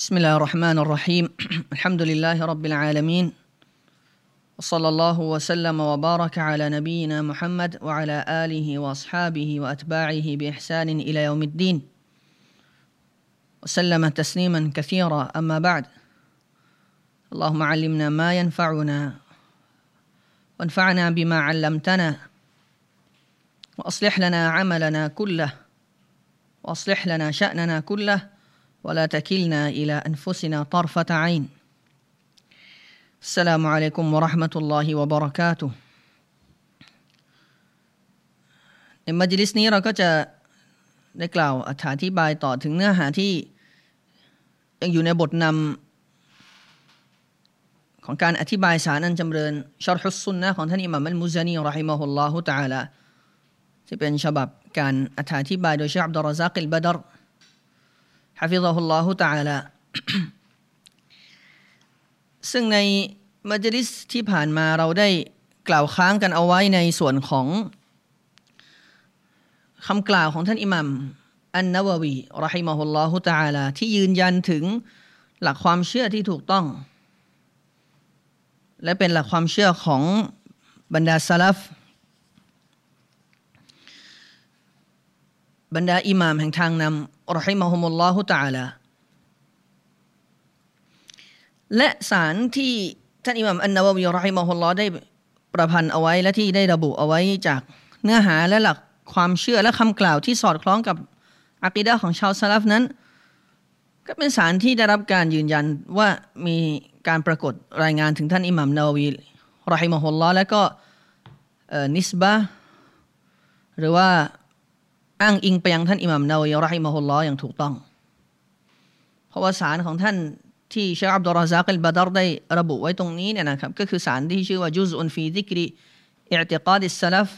بسم الله الرحمن الرحيم الحمد لله رب العالمين وصلى الله وسلم وبارك على نبينا محمد وعلى آله وأصحابه وأتباعه بإحسان إلى يوم الدين وسلم تسليما كثيرا أما بعد اللهم علمنا ما ينفعنا وانفعنا بما علمتنا وأصلح لنا عملنا كله وأصلح لنا شأننا كله ولا تكلنا إلى أنفسنا طرفة عين السلام عليكم ورحمة الله وبركاته ในมัจลิสนี้เราก็จะได้กล่าวอธิบายต่อถึงเนื้อหาที่ยังอยู่ในบทนำของการอธิบายสารอันจำเริญชะรฮุสซุนนะห์ของท่านอิหม่ามอัลมุซานีเราะฮิมะฮุลลอฮุตะอาลาที่เป็นฉบับการอธิบายโดยเชคอับดุลรอซากิลบะดรฮะฟิซะฮุลลอฮุตะอาลาซึ่งในมัจลิสที่ผ่านมาเราได้กล่าวค้างกันเอาไว้ในส่วนของคำกล่าวของท่านอิหม่ามอันนะวะวีเราะฮิมะฮุลลอฮุตะอาลาที่ยืนยันถึงหลักความเชื่อที่ถูกต้องและเป็นหลักความเชื่อของบรรดาซะลัฟบรรดาอิหม่ามแห่งทางนำเราะฮิมะฮุมุลลอฮุตะอาลาและสารที่ท่านอิหม่ามอันนะวะวีเราะฮิมะฮุลลอฮ์ได้ประพันธ์เอาไว้และที่ได้ระบุเอาไว้จากเนื้อหาและหลักความเชื่อและคำกล่าวที่สอดคล้องกับอะกีดะห์ของชาวซะลัฟนั้นก็เป็นสารที่ได้รับการยืนยันว่ามีการปรากฏรายงานถึงท่านอิหม่ามนะวะวีเราะฮิมะฮุลลอฮ์และก็นิสบะห์หรือว่าอ้างอิงไปยังท่านอิหม่ามนะวะวีเราะฮิมะฮุลลอฮ์อย่างถูกต้องเพราะว่าสารของท่านที่เชคอับดุลรอซากิลบะดรได้ระบุไว้ตรงนี้เนี่ยนะครับก็คือสารที่ชื่อว่าจุซอุนฟีซิกริอิอ์ติกาดิสซะลัฟ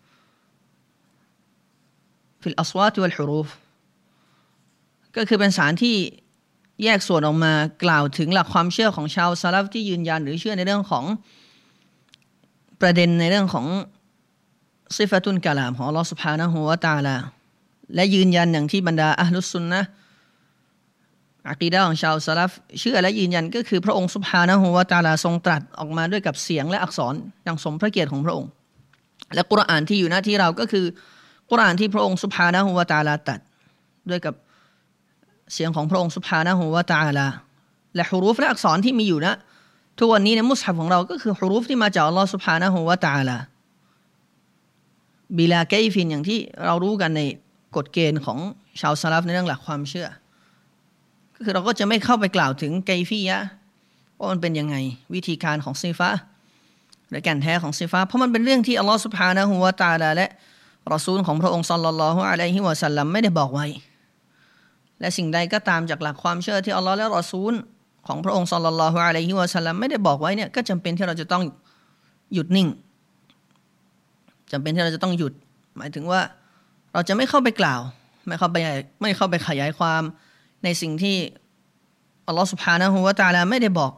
ฟิลอัศวาตวัลฮุรูฟก็คือเป็นสารที่แยกส่วนออกมากล่าวถึงหลักความเชื่อของชาวซะลัฟที่ยืนยันหรือเชื่อในเรื่องของประเด็นในเรื่องของซิฟะตุลกะลามของอัลเลาะห์ซุบฮานะฮูวะตะอาลาและยืนยันอย่างที่บรรดาอะห์ลุสซุนนะห์อะกีดะห์ของชาวซะลัฟเชื่อและยืนยันก็คือพระองค์ซุบฮานะฮูวะตะอาลาทรงตรัสออกมาด้วยกับเสียงและอักษรอย่างสมพระเกียรติของพระองค์และกุรอานที่อยู่หน้าที่เราก็คือกุรอานที่พระองค์ซุบฮานะฮูวะตะอาลาตรัสด้วยกับเสียงของพระองค์ซุบฮานะฮูวะตะอาลาและฮุรูฟและอักษรที่มีอยู่นะทุกวันนี้ในมุศฮัฟของเราก็คือฮุรูฟที่มาจากอัลเลาะห์ซุบฮานะฮูวะตะอาลาบิลาไกฟินอย่างที่เรารู้กันในกฎเกณฑ์ของชาวซะลัฟในเรื่องหลักความเชื่อก็คือเราก็จะไม่เข้าไปกล่าวถึงไกฟียะห์ว่ามันเป็นยังไงวิธีการของซิฟะห์หรือแก่นแท้ของซิฟะห์เพราะมันเป็นเรื่องที่อัลเลาะห์ซุบฮานะฮูวะตะอาลาและรอซูลของพระองค์ศ็อลลัลลอฮุอะลัยฮิวะซัลลัมไม่ได้บอกไว้และสิ่งใดก็ตามจากหลักความเชื่อที่อัลเลาะห์และรอซูลของพระองค์ศ็อลลัลลอฮุอะลัยฮิวะซัลลัมไม่ได้บอกไว้เนี่ยก็จำเป็นที่เราจะต้องหยุดนิ่งจำเป็นที่เราจะต้องหยุดหมายถึงว่าเราจะไม่เข้าไปกล่าวไม่เข้าไปขยายความในสิ่งที่อัลเลาะห์ซุบฮานะฮูวะตะอาลาไม่ได้บอก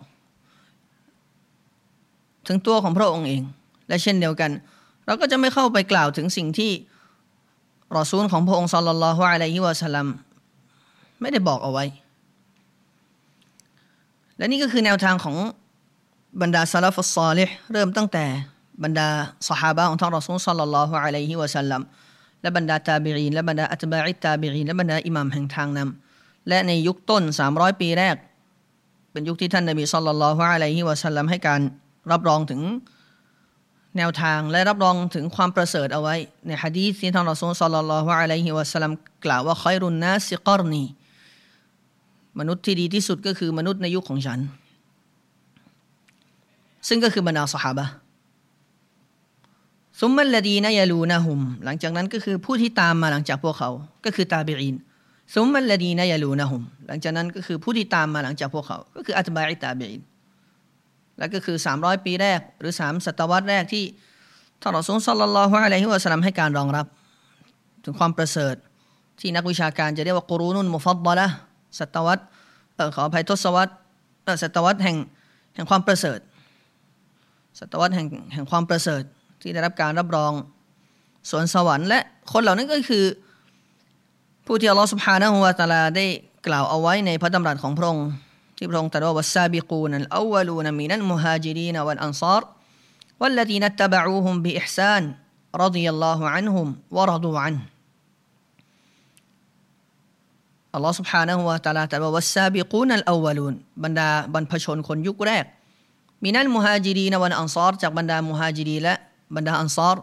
ถึงตัวของพระองค์เองและเช่นเดียวกันเราก็จะไม่เข้าไปกล่าวถึงสิ่งที่รอซูลของพระองค์ศ็อลลัลลอฮุอะลัยฮิวะซัลลัมไม่ได้บอกเอาไว้และนี่ก็คือแนวทางของบรรดาซะลัฟุสศอลิห์เริ่มตั้งแต่บรรดาซอฮาบะห์ของท่านรอซูลศ็อลลัลลอฮุอะลัยฮิวะซัลลัมและบรรดาตาบิอีนและบรรดาอัตบาอิตตาบิอีนและบรรดาอิหม่ามแห่งทางนำและในยุคต้น300ปีแรกเป็นยุคที่ท่านนบีศ็อลลัลลอฮุอะลัยฮิวะซัลลัมให้การรับรองถึงแนวทางและรับรองถึงความประเสริฐเอาไว้ในหะดีษที่ท่านรอซูลศ็อลลัลลอฮุอะลัยฮิวะซัลลัมกล่าวว่าค็อยรุนนาซิกอรนีมนุษย์ที่ดีที่สุดก็คือมนุษย์ในยุคของฉันซึ่งก็คือบรรดาซอฮาบะห์ซุมมัลลดีนะยะลูนะฮุมหลังจากนั้นก็คือผู้ที่ตามมาหลังจากพวกเขาก็คือตาบิอีนซุมมัลลดีนะยะลูนะฮุมหลังจากนั้นก็คือผู้ที่ตามมาหลังจากพวกเขาก็คืออัตบาอิตตาบิอีนและก็คือ300ปีแรกหรือ3ศตวรรษแรกที่ท่านรอซูลศ็อลลัลลอฮุอะลัยฮิวะซัลลัมให้การรองรับถึงความประเสริฐที่นักวิชาการจะเรียกว่ากุรูนุนมุฟัฎฎอละห์ศตวรรษขออภัยทศวรรษศตวรรษแห่งความประเสริฐศตวรรษแห่งความประเสริฐที่ได้รับการรับรองสวนสวรรค์และคนเหล่านั้นก็คือผู้ที่อัลเลาะห์ซุบฮานะฮูวะตะอาลาได้กล่าวเอาไว้ในพระดำรัสของพระองค์ที่พระองค์ตรัสว่าวัสซาบิกูนัลอวัลูนมินัลมุฮาจิรีนวัลอันซาร์والذين اتبعوهم بإحسان رضي الله عنهم ورضوا عنهอัลลอฮฺ سبحانه และ تعالى ตรัสว่าวัสซาบิกูนัลอวัลูนบรรดาบรรพชนคนยุคแรกมินัลมุฮาจิรีนวัลอันซาร์จากบรรดามุฮาจิรีและบรรดาอันซาร์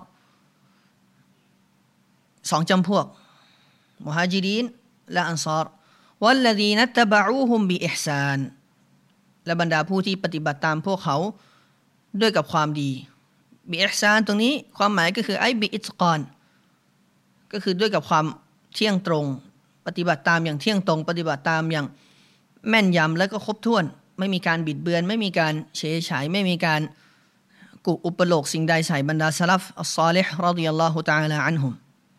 สองจำพวกมุฮาจิรีนและอันซาร์والذين اتبعوهم بإحسان และบรรดาผู้ที่ปฏิบัติตามพวกเขาด้วยกับความดีบิอิห์ซานตรงนี้ความหมายก็คือไอ้บิอิตกอนก็คือด้วยกับความเที่ยงตรงปฏิบัติตามอย่างเที่ยงตรงปฏิบัติตามอย่างแม่นยำและก็ครบถ้วนไม่มีการบิดเบือนไม่มีการเฉยฉายไม่มีการกุอุปโลกสิ่งใดใส่บรรดาซะลัฟอัศศอลิฮ์รอฎิยัลลอฮุตะอาลาอันฮุม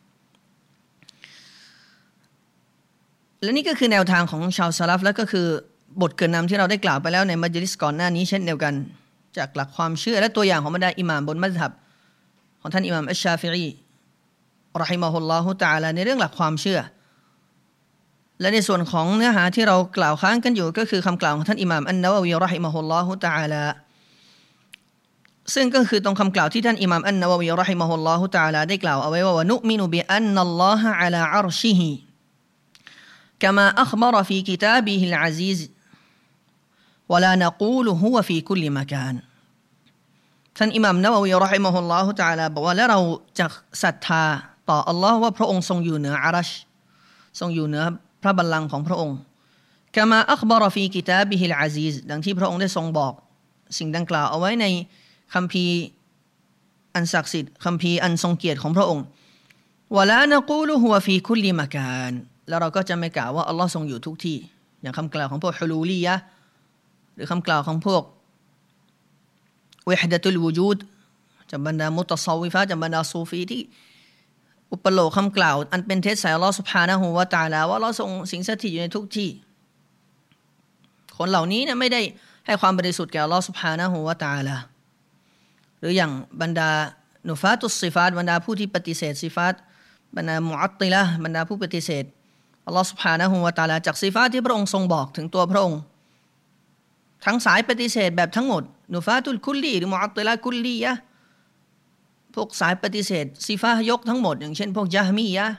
และนี่ก็คือแนวทางของชาวซะลัฟและก็คือบทเกริ่นนำที่เราได้กล่าวไปแล้วในมัจลิสก่อนหน้านี้เช่นเดียวกันจากหลักความเชื่อและตัวอย่างของบรรดาอิหม่ามบนมัซฮับของท่านอิหม่ามอัชชาฟิอีเราะฮิมะฮุลลอฮุตะอาลาในเรื่องหลักความเชื่อและในส่วนของเนื้อหาที่เรากล่าวค้างกันอยู่ก็คือคำกล่าวของท่านอิหม่ามอันนะวะวีเราะฮิมะฮุลลอฮุตะอาลาซึ่งก็คือตรงคำกล่าวที่ท่านอิหม่ามอันนะวะวีเราะฮิมะฮุลลอฮุตะอาลาได้กล่าวเอาไว้ว่าวะนุมินุบิอันนัลลอฮะอะลาอัรชิฮิกะมาอัคบะรฟีกิตาบิฮิลอะซีซวะลานะกูลุฮุวะฟีคุลลิมะกานท่านอิหม่ามนะวะวีเราะฮิมะฮุลลอฮุตะอาลาบอกว่าและเราจะศรัทธาต่ออัลลอฮ์ว่าพระองค์ทรงอยู่เหนืออารัชทรงอยู่เหนือพระบัลลังก์ของพระองค์กะมาอัคบะรฟีกิตาบิฮิลอะซีซดังที่พระองค์ได้ทรงบอกสิ่งดังกล่าวเอาไว้ในคัมภีร์อันศักดิ์สิทธิ์คัมภีร์อันทรงเกียรติของพระองค์วะลานะกูลุฮุวะฟีคุลลิมะกานแล้วเราก็จะไม่กล่าวว่าอัลลอฮ์ทรงอยู่ทุกที่อย่างคำกล่าวของพวกฮุลูลียะห์หรือคำกล่าวของพวกวิฮดะตุลวูจูดจากบรรดามุตซอวิฟะจากบรรดาซูฟีที่อุปโลกคำกล่าวอันเป็นเท็จใส่อัลลอฮ์ซุบฮานะฮูวะตะอาลาว่าอัลลอฮ์ทรงสิงสถิตอยู่ในทุกที่คนเหล่านี้เนี่ยไม่ได้ให้ความบริสุทธิ์แก่อัลลอฮ์ซุบฮานะฮูวะตะอาลาหรืออย่างบรรดานุฟาตุสซิฟาตบรรดาผู้ที่ปฏิเสธซิฟาตบรรดามุอัตติละห์บรรดาผู้ปฏิเสธอัลลอฮ์ซุบฮานะฮูวะตะอาลาจากซิฟาตที่พระองค์ทรงบอกถึงตัวพระองค์ทั้งสายปฏิเสธแบบทั้งหมดนุฟาตุลคุลลีหรือมุอัตติละกุลลียะพวกสายปฏิเสธซิฟาห์ยกทั้งหมดอย่างเช่นพวกญะฮ์มียะห์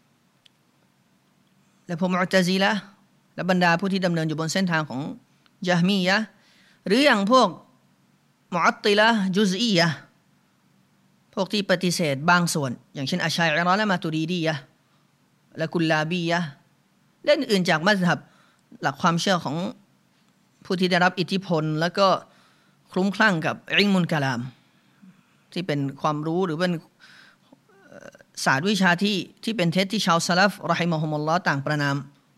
และพวกมุอ์ตะซิละห์และบรรดาผู้ที่ดำเนินอยู่บนเส้นทางของญะฮ์มียะห์หรืออย่างพวกมุอัตติละห์จุซอียะห์พวกที่ปฏิเสธบางส่วนอย่างเช่นอัชชัยอะเราะห์และมาตุรีดียะห์และกุลลาบียะห์และอื่นๆจากมัซฮับหลักความเชื่อของผู้ที่ได้รับอิทธิพลแล้วก็คลุ้มคลั่งกับอิลมุลกะลามที่เป็นความรู้หรือเป็นศาสตร์วิชาที่เป็นเท็จที่ชาวซะลัฟเราะฮิมะฮุมุลลอฮ์ต่างประนาม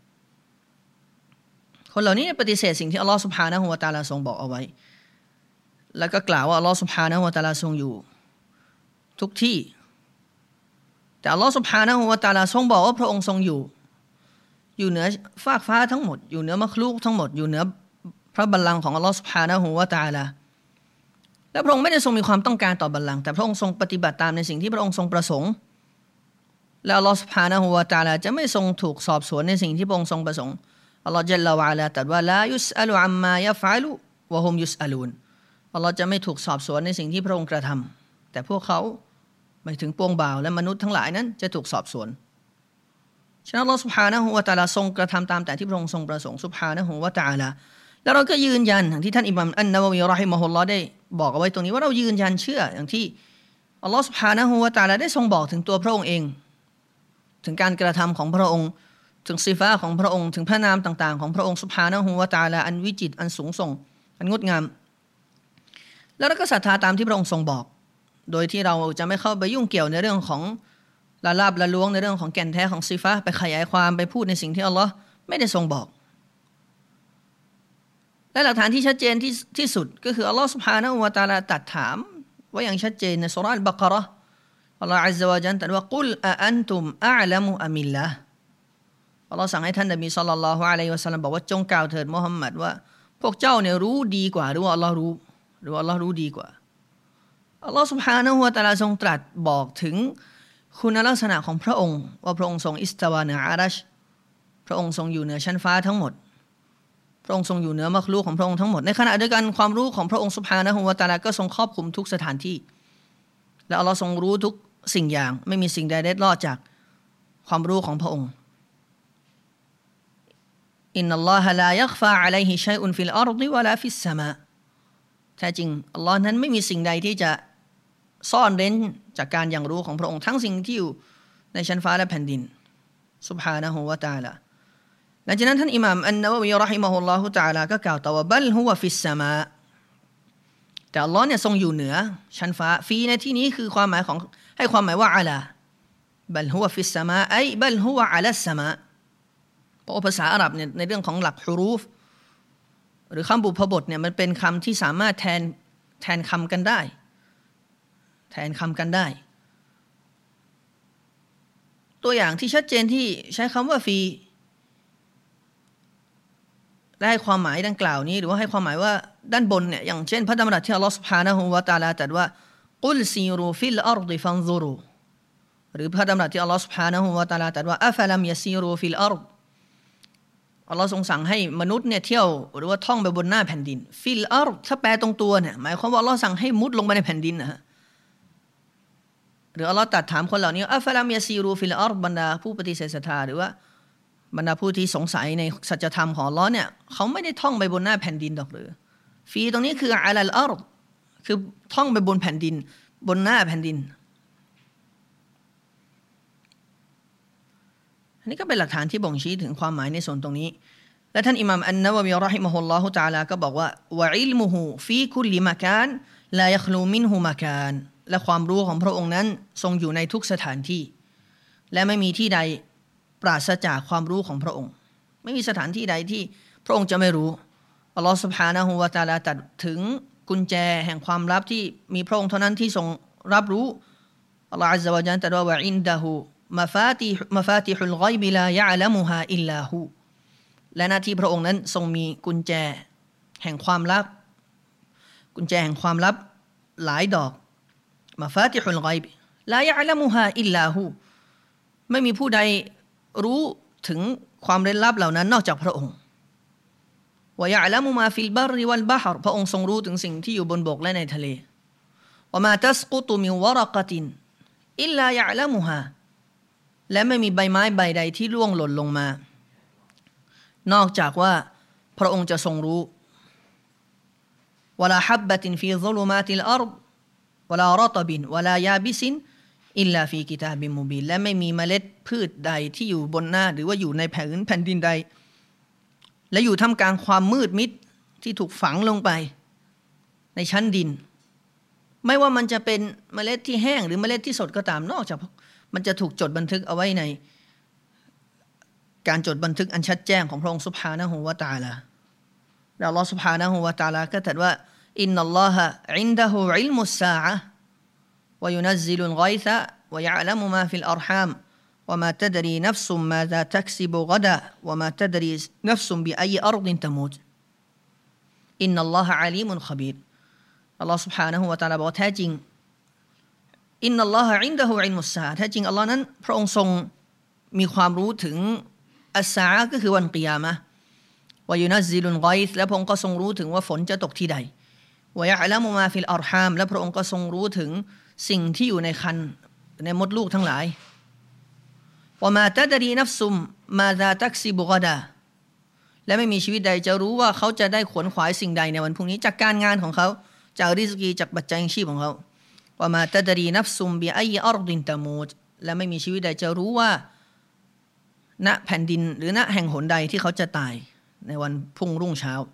คนเหล่านี้ปฏิเสธสิ่งที่อัลลอฮ์ซุบฮานะฮูวะตะอาลาทรงบอกเอาไว้แล้วก็กล่าวว่าอัลลอฮ์ซุบฮานะฮูวะตะอาลาทรงอยู่ทุกที่แต่อัลลอฮ์ซุบฮานะฮูวะตะอาลาทรงบอกว่าพระองค์ทรงอยู่เหนือฟากฟ้าทั้งหมดอยู่เหนือมัคลูกทั้งหมดอยู่เหนือพระบัลลังก์ของอัลลอฮ์ซุบฮานะฮูวะตะอาลาและพระองค์ไม่ได้ทรงมีความต้องการต่อบัลลังก์แต่พระองค์ทรงปฏิบัติตามในสิ่งที่พระองค์ทรงประสงค์และอัลลอฮ์ซุบฮานะฮูวะตะอาลาจะไม่ทรงถูกสอบสวนในสิ่งที่พระองค์ทรงประสงค์อัลลอฮ์ญัลลอฮุวะอะลาตรัสว่าลายุสอะลุอัมมายัฟอะลุวะฮุมยุสอะลูนอัลลอฮ์จะไม่ถูกสอบสวนในสิ่งที่พระองค์กระทำแต่พวกเขาหมายถึงปวงบ่าวและมนุษย์ทั้งหลายนั้นจะถูกสอบสวนฉะนั้นอัลลอฮ์ซุบฮานะฮูวะตะอาลาทรงกระทำตามแต่ที่พระองค์ทรงประสงค์ซุบฮานะฮูวะตะอาลาแล้วเราก็ยืนยันอย่างที่ท่านอิหม่ามอันนะวะวีเราะฮิมะฮุลลอฮ์ได้บอกเอาไว้ตรงนี้ว่าเรายืนยันเชื่ออย่างที่อัลลอฮ์ซุบฮานะฮูวะตะอาลาได้ทรงบอกถึงตัวพระองค์เองถึงการกระทำของพระองค์ถึงซิฟาของพระองค์ถึงพระนามต่างๆของพระองค์ซุบฮานะฮูวะตะอาลาอันวิจิตรอันสูงส่งอันงดงามแล้วเราก็ศรัทธาตามที่พระองค์ทรงบอกโดยที่เราจะไม่เข้าไปยุ่งเกี่ยวในเรื่องของละลาบละล้วงในเรื่องของแก่นแท้ของซิฟาไปขยายความไปพูดในสิ่งที่อัลลอฮ์ไม่ได้ทรงบอกและหลักฐานที่ชัดเจนที่สุดก็คืออัลลอฮ์ سبحانه และ تعالى ตรัสถามไว้อย่างชัดเจนในซูเราะห์อัลบะเกาะเราะห์อัลลอฮ์ عز وجل ตรัสว่ากุลอะอันตุมอะอ์ละมุอะมิลลาห์อัลลอฮ์สั่งให้ท่านนบีศ็อลลัลลอฮุอะลัยฮิวะซัลลัมบอกว่าจงกล่าวเถิดมุฮัมมัดว่าพวกเจ้าเนี่ยรู้ดีกว่าหรือว่าอัลลอฮ์รู้หรือว่าอัลลอฮ์รู้ดีกว่าอัลลอฮ์ سبحانه และ تعالى ทรงตรัสบอกถึงคุณลักษณะของพระองค์ว่าพระองค์ทรงอิสตาวาเหนืออารัชพระองค์ทรงอยู่เหนือชั้นฟ้าทั้งหมดพระองค์ทรงอยู่เหนือมักลุกของพระองค์ทั้งหมดในขณะเดียวกันความรู้ของพระองค์ซุบฮานะฮูวะตะอาลาก็ทรงครอบคลุมทุกสถานที่และอัลลอฮ์ทรงรู้ทุกสิ่งอย่างไม่มีสิ่งใดเล็ดลอดจากความรู้ของพระองค์อินนัลลอฮะลายักฟาอะลัยฮิชัยอุนฟิลอัรฎิวะลาฟิสสมาแท้จริงอัลลอฮ์นั้นไม่มีสิ่งใดที่จะซ่อนเร้นจากการอย่างรู้ของพระองค์ทั้งสิ่งที่อยู่ในชั้นฟ้าและแผ่นดินซุบฮานะฮูวะตะอาลาหลังจากนั้นท่านอิหม่ามอันนะวะวีเราะฮิมะฮุลลอฮุตะอาลาก็กล่าวต่อว่าบัลฮุวะฟิสสมาแต่อัลลอฮ์เนี่ยทรงอยู่เหนือชั้นฟ้าฟีในที่นี้คือความหมายของให้ความหมายว่าอะลาบัลฮุวะฟิสสมาไอบัลฮุวะอะลัสสมาเพราะภาษาอาหรับเนี่ยในเรื่องของหลักฮุรูฟหรือคำบุพบทเนี่ยมันเป็นคำที่สามารถแทนคำกันได้แทนคำกันได้ตัวอย่างที่ชัดเจนที่ใช้คำว่าฟีและให้ความหมายดังกล่าวนี้หรือว่าให้ความหมายว่าด้านบนเนี่ยอย่างเช่นพระดำรัสที่อัลลอฮฺซุบฮานะฮูวะตะอาลาตรัสว่ากุลซีรูฟิลอัรฎิฟันซุรูหรือพระดำรัสที่อัลลอฮฺซุบฮานะฮูวะตะอาลาตรัสว่าอัฟลัมยะซีรูฟิลอัรฎอัลลอฮ์ทรงสั่งให้มนุษย์เนี่ยเที่ยวหรือว่าท่องไปบนหน้าแผ่นดินฟิลอัรฎถ้าแปลตรงตัวเนี่ยหมายความว่าอัลลอฮ์สั่งให้มุดลงไปในแผ่นดินนะฮะหรืออัลลอฮ์ตรัสถามคนเหล่านี้อัฟลัมยะซีรูฟิลอัรฎบรรดาผู้ปฏิเสธศรัทธาหรือว่าบรรดาผู้ที่สงสัยในสัจธรรมของอัลเลาะห์เนี่ยเขาไม่ได้ท่องไปบนหน้าแผ่นดินดอกหรือฟีตรงนี้คืออะลัลอัรฎคือท่องไปบนแผ่นดินบนหน้าแผ่นดินอันนี้ก็เป็นหลักฐานที่บ่งชี้ถึงความหมายในส่วนตรงนี้และท่านอิหม่ามอันนะวะวีเราะฮิมะฮุลลอฮุตะอาลาก็บอกว่าวะอิลมุฮุฟีคุลลิมะกานลายัคลูมินฮุมะกานและความรู้ของพระองค์นั้นทรงอยู่ในทุกสถานที่และไม่มีที่ใดปราศจากความรู้ของพระองค์ไม่มีสถานที่ใดที่พระองค์จะไม่รู้อัลลอฮฺซุบฮานะฮูวะตะอาลาตรัสถึงกุญแจแห่งความลับที่มีพระองค์เท่านั้นที่ทรงรับรู้อัลลอฮฺอัซซะวะญัลตรัสว่าวะอินดะฮูมะฟาติฮุลฆอยบิลายะอ์ละมุฮาอิลลาฮูและหน้าที่พระองค์นั้นทรงมีกุญแจแห่งความลับกุญแจแห่งความลับหลายดอกมะฟาติฮุลฆอยบลายะอ์ละมุฮาอิลลาฮูไม่มีผู้ใดรู้ถึงความเร้นลับเหล่านั้นนอกจากพระองค์วะยะอ์ละมุมาฟิลบัรวัลบะฮรพระองค์ทรงรู้ถึงสิ่งที่อยู่บนบกและในทะเลวะมาตัสกุตุมินวะเราะกะตินอิลลายะอ์ละมุฮาและไม่มีใบไม้ใบใดที่ร่วงหล่นลงมานอกจากว่าพระองค์จะทรงรู้วะลาฮับบะตินฟีซุลุมาติลอัรฎวะลารอตบินวะลายาบิซินอิลลาฟีกิตาบิมุบีนและไม่มีเมล็ดพืชใดที่อยู่บนหน้าหรือว่าอยู่ในแผ่นดินใดและอยู่ท่ามกลางความมืดมิดที่ถูกฝังลงไปในชั้นดินไม่ว่ามันจะเป็นเมล็ดที่แห้งหรือเมล็ดที่สดก็ตามนอกจากมันจะถูกจดบันทึกเอาไว้ในการจดบันทึกอันชัดแจ้งของพระองค์ซุบฮานะฮูวะตะอาลาแล้วอัลลอฮฺซุบฮานะฮูวะตะอาลาก็ตรัสว่าอินนัลลอฮะอินดะฮูอิลมุสซาอะห์وينزل الغيث ويعلم ما في الأرحام وما تدري نفس ماذا تكسب غدا وما تدري نفس بأي أرض تموت إن الله عليم خبير الله سبحانه وتعالى บอกแท้จริงอินนัลลอฮะอินดะฮูอิลมุสซาแท้จริงอัลลอฮ์นั้นพระองค์ทรงมีความรู้ถึงอัสซาอะห์ก็คือวันกิยามะห์วะยุนัซซิลุลฆอยซและพระองค์ก็ทรงรู้ถึงว่าฝนจะตกที่ใดวะยะอ์ละมุมาฟิลอัรฮามและพระองค์ก็ทรงรู้ถึงสิ่งที่อยู่ในครรภ์ในมดลูกทั้งหลายวะมาตะดรีนัฟซุมมาซาตักซิบุกอดาและไม่มีชีวิตใดจะรู้ว่าเขาจะได้ขวนขวายสิ่งใดในวันพรุ่งนี้จากการงานของเขาจากริสกีจากปัจจัยชีพของเขาวะมาตะดรีนัฟซุมบิอัยอัรฎินตะมูตและไม่มีชีวิตใดจะรู้ว่าณแผ่นดินหรือณแห่งหนใดที่เขาจะตายในวันพุ่งรุ่งเช้า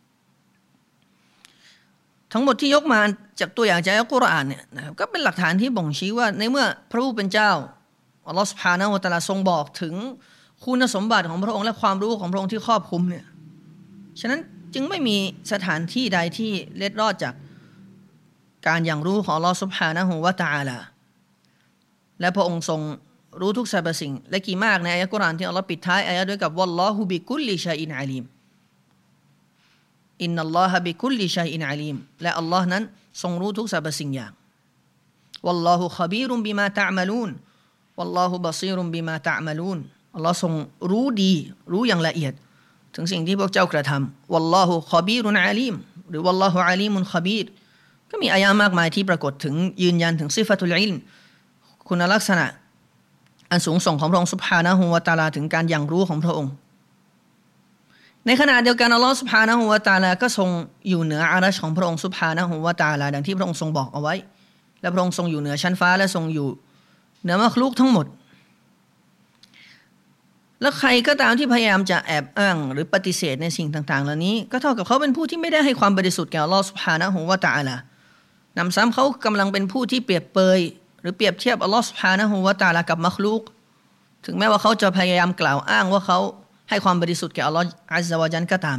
ทั้งหมดที่ยกมาจากตัวอย่างจากอัลกุรอานเนี่ยนะครับก็เป็นหลักฐานที่บ่งชี้ว่าในเมื่อพระผู้เป็นเจ้าอัลลอฮฺซุบฮานะฮูวะตะอาลาทรงบอกถึงคุณสมบัติของพระองค์และความรู้ของพระองค์ที่ครอบคลุมเนี่ยฉะนั้นจึงไม่มีสถานที่ใดที่เล็ดรอดจากการอย่างรู้ของอัลลอฮฺซุบฮานะฮูวะตะอาลาและพระองค์ทรงรู้ทุกสรรพสิ่งและกี่มากในอายะห์กุรอานที่อัลลอฮฺปิดท้ายอายะห์ด้วยกับวัลลอฮุบิกุลลิชัยอินอาลีมอินนัลลอฮะบิคุลลิชัยอินอาลีมและอัลลอฮ์นั้นทรงรู้ทุกสรรพสิ่งอย่างวัลลอฮุคบีรุมบิมาตะอ์มะลูนวัลลอฮุบะซีรุมบิมาตะอ์มะลูนอัลลอฮ์ทรงรู้ดีรู้อย่างละเอียดถึงสิ่งที่พวกเจ้ากระทำวัลลอฮุคอบีรุนอาลีมหรือวัลลอฮุอาลีมุนคอบีรก็มีอายะห์มากมายที่ปรากฏถึงยืนยันถึงซิฟะตุลอิลมคุณลักษณะอันสูงส่งของพระองค์ซุบฮานะฮูวะตะอาลาถึงการอย่างรู้ของพระองค์ในขณะเดียวกันอัลลอฮ์ซุบฮานะฮูวะตะอาลาก็ทรงอยู่เหนืออารัชของพระองค์ซุบฮานะฮูวะตะอาลาดังที่พระองค์ทรงบอกเอาไว้และพระองค์ทรงอยู่เหนือชั้นฟ้าและทรงอยู่เหนือมักลุกทั้งหมดแล้วใครก็ตามที่พยายามจะแอบอ้างหรือปฏิเสธในสิ่งต่างๆเหล่านี้ก็เท่ากับเขาเป็นผู้ที่ไม่ได้ให้ความบริสุทธิ์แก่อัลลอฮ์ซุบฮานะฮูวะตะอาลานำซ้ำเขากำลังเป็นผู้ที่เปรียบเปยหรือเปรียบเทียบอัลลอฮ์ซุบฮานะฮูวะตะอาลากับมักลุกถึงแม้ว่าเขาจะพยายามกล่าวอ้างว่าเขาให้ความบริสุทธิ์แก่อัลลอฮ์อัซซะวะญัลก็ตาม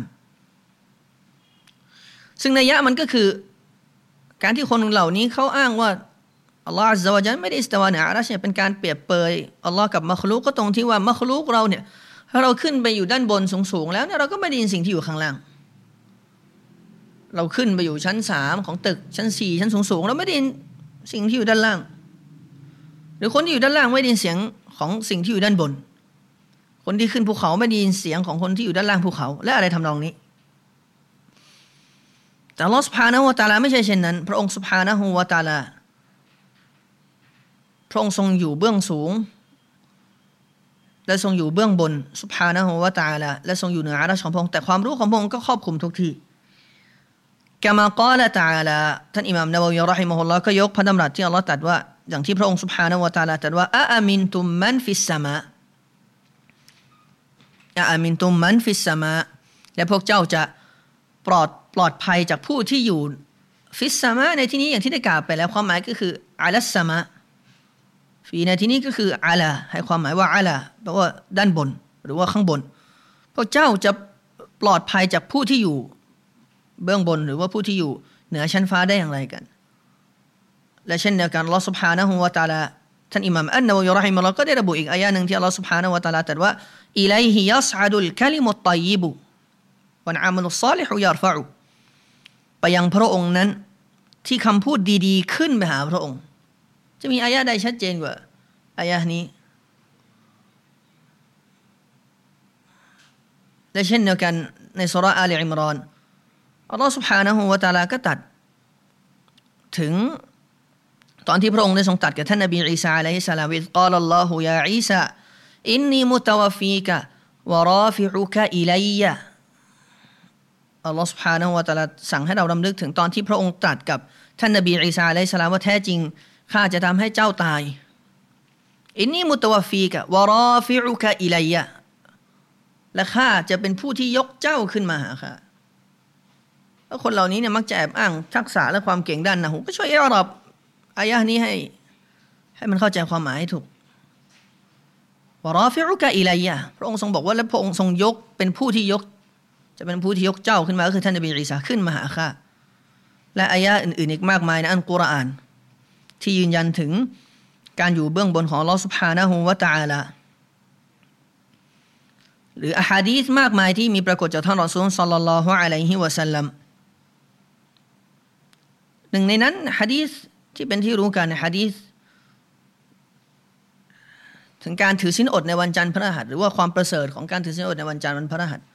ซึ่งนัยยะมันก็คือการที่คนเหล่านี้เขาอ้างว่าอัลลอฮ์อัซซะวะญัลไม่ได้อิสติวาเหนืออารัชเนี่ยเป็นการเปรียบเปยอัลลอฮ์กับมักลุกก็ตรงที่ว่ามักลุกเราเนี่ยถ้าเราขึ้นไปอยู่ด้านบนสูงๆแล้วเนี่ยเราก็ไม่ได้ยินสิ่งที่อยู่ข้างล่างเราขึ้นไปอยู่ชั้น3ของตึกชั้น4ชั้นสูงๆเราไม่ได้ยินสิ่งที่อยู่ด้านล่างหรือคนที่อยู่ด้านล่างไม่ได้ยินเสียงของสิ่งที่อยู่ด้านบนคนที่ขึ้นภูเขาไม่ได้ยินเสียงของคนที่อยู่ด้านล่างภูเขาและอะไรทำนองนี้แต่อัลเลาะห์ซุบฮานะฮูวะตะอาลาไม่ใช่เช่นนั้นพระองค์ซุบฮานะฮูวะตะอาลาพระองค์ทรงอยู่เบื้องสูงและทรงอยู่เบื้องบนซุบฮานะฮูวะตะอาลาและทรงอยู่เหนืออารัชของพระองค์แต่ความรู้ของพระองค์ก็ครอบคลุมทุกที่กะมากาละตะอาลาท่านอิหม่ามนะวะวีเราะฮิมะฮุลลอฮ์ก็ยกพระดำรัสที่อัลเลาะห์ตรัสว่าอย่างที่พระองค์ซุบฮานะฮูวะตะอาลาตรัสว่าอะมินตุมมันฟิสสมาอามินตุมมันฟิสสมาและพวกเจ้าจะปลอดภัยจากผู้ที่อยู่ฟิสสมาในที่นี้อย่างที่ได้กล่าวไปแล้วความหมายก็คืออะลัสสมาฟีในที่นี้ก็คืออะลาให้ความหมายว่าอะลาแปลว่าด้านบนหรือว่าข้างบนพวกเจ้าจะปลอดภัยจากผู้ที่อยู่เบื้องบนหรือว่าผู้ที่อยู่เหนือชั้นฟ้าได้อย่างไรกันและเช่นเดียวกันอัลเลาะห์ซุบฮานะฮูวะตะอาลาท่านอิหม่ามอันนะวะวีเราะฮิมะฮุลลอฮ์ก็ได้ระบุอีกอายะห์นึงที่อัลเลาะห์ซุบฮานะฮูวะตะอาลาตรัสว่าอิลัยฮิยัศอดุลกะลิมุตฏอยยิบุวัลอามัลุศศอลิฮุยัรฟะอุไปยังพระองค์นั้นที่คำพูดดีๆขึ้นไปหาพระองค์จะมีอายะห์ใดชัดเจนกว่าอายะห์นี้และเช่นเดียวกันในซูเราะห์อาลีอิมรอนอัลเลาะห์ซุบฮานะฮูวะตะอาลาก็ตรัสถึงตอนที่พระองค์ได้ทรงตรัสกับท่านนบีอีสาอะลัยฮิสสลามวิกาลัลลอฮุยาอีซาอินนีมุตะวะฟีกะวะราฟิอุกะอิลัยยะอัลลอฮฺ سبحانه และ تعالى สั่งให้เรารำลึกถึงตอนที่พระองค์ตรัสกับท่านนบีอีสาอะลัยฮิสสลามว่าแท้จริงข้าจะทำให้เจ้าตายอินนีมุตะวะฟีกะวะราฟิอุกะอิลัยยะและข้าจะเป็นผู้ที่ยกเจ้าขึ้นมาหาข้าแล้วคนเหล่านี้เนี่ยมักจะแอบอ้างทักษะและความเก่งด้านนะฮูก็ช่วยอิอรอบอายะห์นี้ให้มันเข้าใจความหมายให้ถูกวะราฟิอุกะอิลัยยะพระองค์ทรงบอกว่าและพระองค์ทรงยกเป็นผู้ที่ยกจะเป็นผู้ที่ยกเจ้าขึ้นมาก็คือท่านนบีอีสาขึ้นมาหาข้าและอายะห์อื่นๆอีกมากมายในอัลกุรอานที่ยืนยันถึงการอยู่เบื้องบนของอัลเลาะห์ซุบฮานะฮูวะตะอาลาหรืออะฮาดีษมากมายที่มีปรากฏจากท่านรอซูลศ็อลลัลลอฮุอะลัยฮิวะซัลลัมหนึ่งในนั้นหะดีษที่เป็นที่รู้กันหะดีษถึงการถือศีลอดในวันจันทร์พฤหัสหรือว่าความประเสริฐของการถือศีลอดในวันจันทร์วันพฤหัส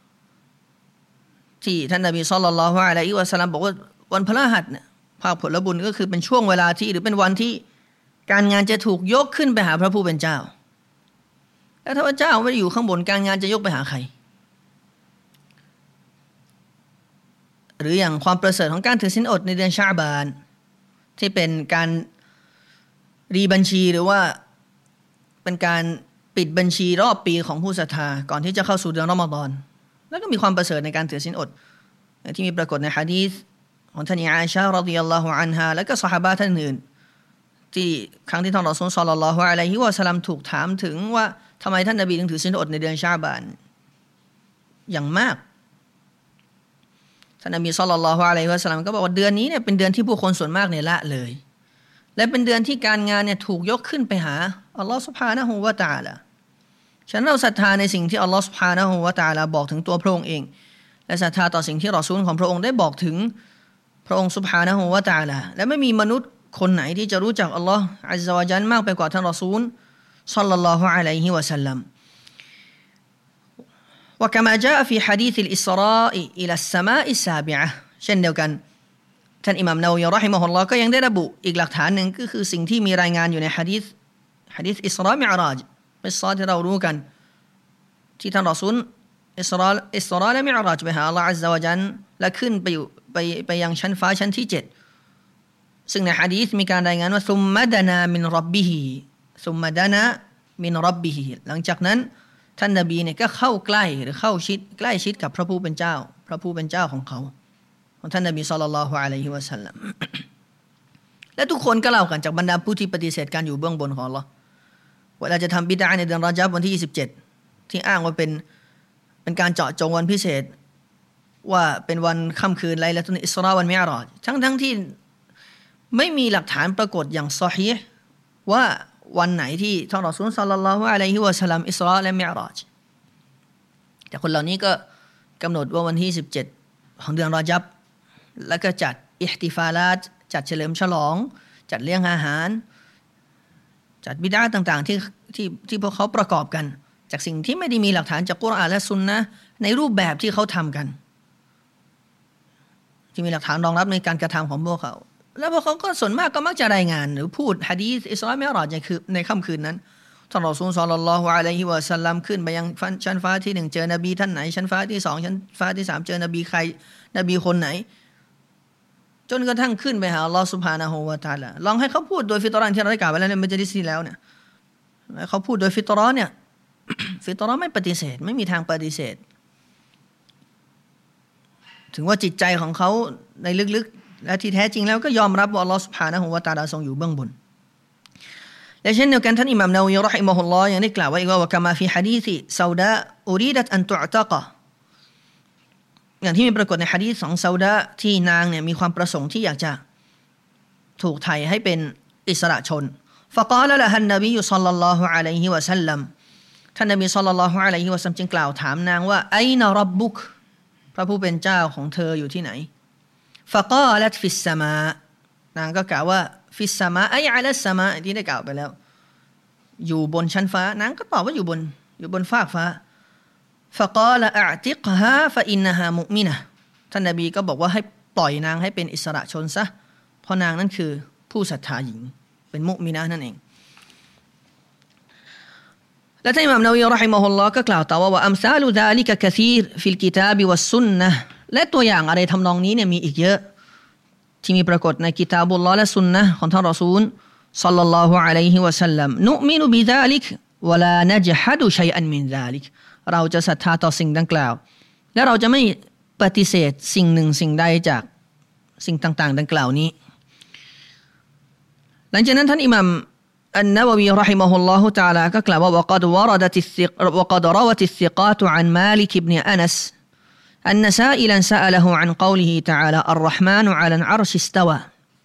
ที่ท่านนบีศ็อลลัลลอฮุอะลัยฮิวะซัลลัมบอกว่าวันพฤหัสเนี่ยภาคผลบุญก็คือเป็นช่วงเวลาที่หรือเป็นวันที่การงานจะถูกยกขึ้นไปหาพระผู้เป็นเจ้าแล้วถ้าพระเจ้าไม่ได้อยู่ข้างบนการงานจะยกไปหาใครหรืออย่างความประเสริฐของการถือศีลอดในเดือนชะอ์บานที่เป็นการรีบัญชีหรือว่าเป็นการปิดบัญชีรอบปีของผู้ศรัทธาก่อนที่จะเข้าสู่เดือนรอมฎอนแล้วก็มีความประเสริฐในการถือศีลอดที่มีปรากฏในหะดีษของท่านอาอิชะห์รอฎิยัลลอฮุอันฮาและก็ซอฮาบะห์ท่านอื่นที่ครั้งที่ท่านรอซูลศ็อลลัลลอฮุอะลัยฮิวะซัลลัมถูกถามถึงว่าทำไมท่านนบีถึงถือศีลอดในเดือนชะอ์บานอย่างมากท่านนบีศ็อลลัลลอฮุอะลัยฮิวะซัลลัมก็บอกว่าเดือนนี้เนี่ยเป็นเดือนที่ผู้คนส่วนมากเนี่ยละเลยและเป็นเดือนที่การงานเนี่ยถูกยกขึ้นไปหาอัลลอฮฺซุบฮานะฮูวะตะอาลาฉะนั้นเราศรัทธาในสิ่งที่อัลลอฮฺซุบฮานะฮูวะตะอาลาบอกถึงตัวพระองค์เองและศรัทธาต่อสิ่งที่รอซูลของพระองค์ได้บอกถึงพระองค์ซุบฮานะฮูวะตะอาลาและไม่มีมนุษย์คนไหนที่จะรู้จักอัลลอฮฺอัซซะวะญัลมากไปกว่าท่านรอซูลศ็อลลัลลอฮุอะลัยฮิวะซัลลัม وكما جاء في حديث الإسراء إلى السماء السابعة เช่นเดียวกันท่านอิหม่ามนาวีเราะฮิมะฮุลลอฮ์ก็ยังได้ระบุอีกหลักฐานหนึ่งก็คือสิ่งที่มีรายงานอยู่ในหะดีษอิสรามิอ์ราจเป็นซอที่เรารู้กันที่ท่านรอซูลอิสราและมิอ์ราจไปหาอัลลอฮ์อัซซะวะญัลและขึ้นไปยังชั้นฟ้าชั้นที่7ซึ่งในหะดีษมีการรายงานว่าซุมมะดานามินร็อบบิฮิซุมมะดานามินร็อบบิฮิหลังจากนั้นท่านนบีเนี่ยก็เข้าใกล้หรือเข้าชิดใกล้ชิดกับพระผู้เป็นเจ้าของเขาของท่านนบีศ็อลลัลลอฮุอะลัยฮิวะซัลลัมและทุกคนก็เล่ากันจากบรรดาผู้ที่ปฏิเสธการอยู่เบื้องบนของอัลเลาะห์เวลาจะทำบิดอะห์ในเดือนรอญับวันที่27ที่อ้างว่าเป็นการเจาะจงวันพิเศษว่าเป็นวันค่ำคืนไลละตุลอิสราวันมิอ์ราจทั้งที่ไม่มีหลักฐานปรากฏอย่างซอฮีห์ว่าวันไหนที่ท่านรอซูลศ็อลลัลลอฮุอะลัยฮิวะซัลลัมอิสราและมิอ์ราจแต่คนเหล่านี้ก็กำหนดว่าวันที่17ของเดือนรอญับแล้วก็จัดอิห์ติฟาลาตจัดเฉลิมฉลองจัดเลี้ยงอาหารจัดบิดอะห์ต่างๆที่พวกเขาประกอบกันจากสิ่งที่ไม่ได้มีหลักฐานจากกุรอานและซุนนะห์ในรูปแบบที่เขาทำกันที่มีหลักฐานรองรับในการกระทำของพวกเขาแล้วพวกเขาก็ส่วนมากก็มักจะรายงานหรือพูดหะดีษอิสรามิอ์ราจในค่ำคืนนั้นท่านรอซูลศ็อลลัลลอฮุอะลัยฮิวะซัลลัมขึ้นไปยังชั้นฟ้าที่1เจอนบีท่านไหนชั้นฟ้าที่2ชั้นฟ้าที่3เจอนบีใครนบีคนไหนจนกระทั่งขึ้นไปหาอัลเลาะห์ซุบฮานะฮูวะตะอาลาลองให้เขาพูดโดยฟิตเราะห์ที่เราได้กล่าวไว้แล้วในมัจลิสที่แล้วเนี่ยเขาพูดโดยฟิตเราะห์เนี่ยฟิตเราะห์ไม่ปฏิเสธไม่มีทางปฏิเสธถึงว่าจิตใจของเขาในลึกๆและที่แท้จริงแล้วก็ยอมรับว่าอัลเลาะห์ซุบฮานะฮูวะตะอาลาทรงอยู่เบื้องบนและเช่นเดียวกันท่านอิหม่ามนาวีเราะฮิมะฮุลลอฮ์ยังได้กล่าวไว้อีกว่าคามาฟีหะดีษซาวดาอูรีดัตอันตุอ์ตะกะอย่างที่มีปรากฏในหะดีษของซาวดาที่นางเนี่ยมีความประสงค์ที่อยากจะถูกไถ่ให้เป็นอิสระชนฟะกาละละฮันนบีศ็อลลัลลอฮุอะลัยฮิวะซัลลัมท่านนบีศ็อลลัลลอฮุอะลัยฮิวะซัลลัมจึงกล่าวถามนางว่าไอนะร็อบบุกพระผู้เป็นเจ้าของเธออยู่ที่ไหนฟะกาลัตฟิสสมานางก็กล่าวว่าฟิสสมาไออะลัสสมาที่ได้กล่าวไปแล้วอยู่บนชั้นฟ้านางก็ตอบว่าอยู่บนฟากฟ้าفقال اعتقها فإنها مؤمنة ท่านนบีก็บอกว่าให้ปล่อยนางให้เป็นอิสระชนซะเพราะนางนั้นคือผู้ศรัทธาหญิงเป็นมุมินะห์นั่นเองและท่านอิหม่ามนาวีเราะฮิมะฮุลลอฮ์ก็กล่าวต่อว่าอัมซาลุซาลิกะกะซีรฟิลกิตาบิวัสซุนนะห์และตัวอย่างอะไรทำนองนี้เนี่ยมีอีกเยอะที่มีปรากฏในกิตาบุลลอฮ์และซุนนะห์ของท่านรอซูลศ็อลลัลลอฮุอะลัยฮิวะซัลลัมนุมินุบิซาลิกวะลานะจฮัดุชัยอันมินซาลิกเราจะศรัทธาต่อสิ่งดังกล่าวและเราจะไม่ปฏิเสธสิ่งหนึ่งสิ่งใดจากสิ่งต่างๆดังกล่าวนี้หลังจากนั้นท่านอิหม่ามอันนะวะวีเราะฮิมะฮุลลอฮุตะอาลาก็กล่าวว่า وقد روت الثقات عن مالك بن أنس أن سائلا سأله عن قوله تعالى الرحمن على العرش استوى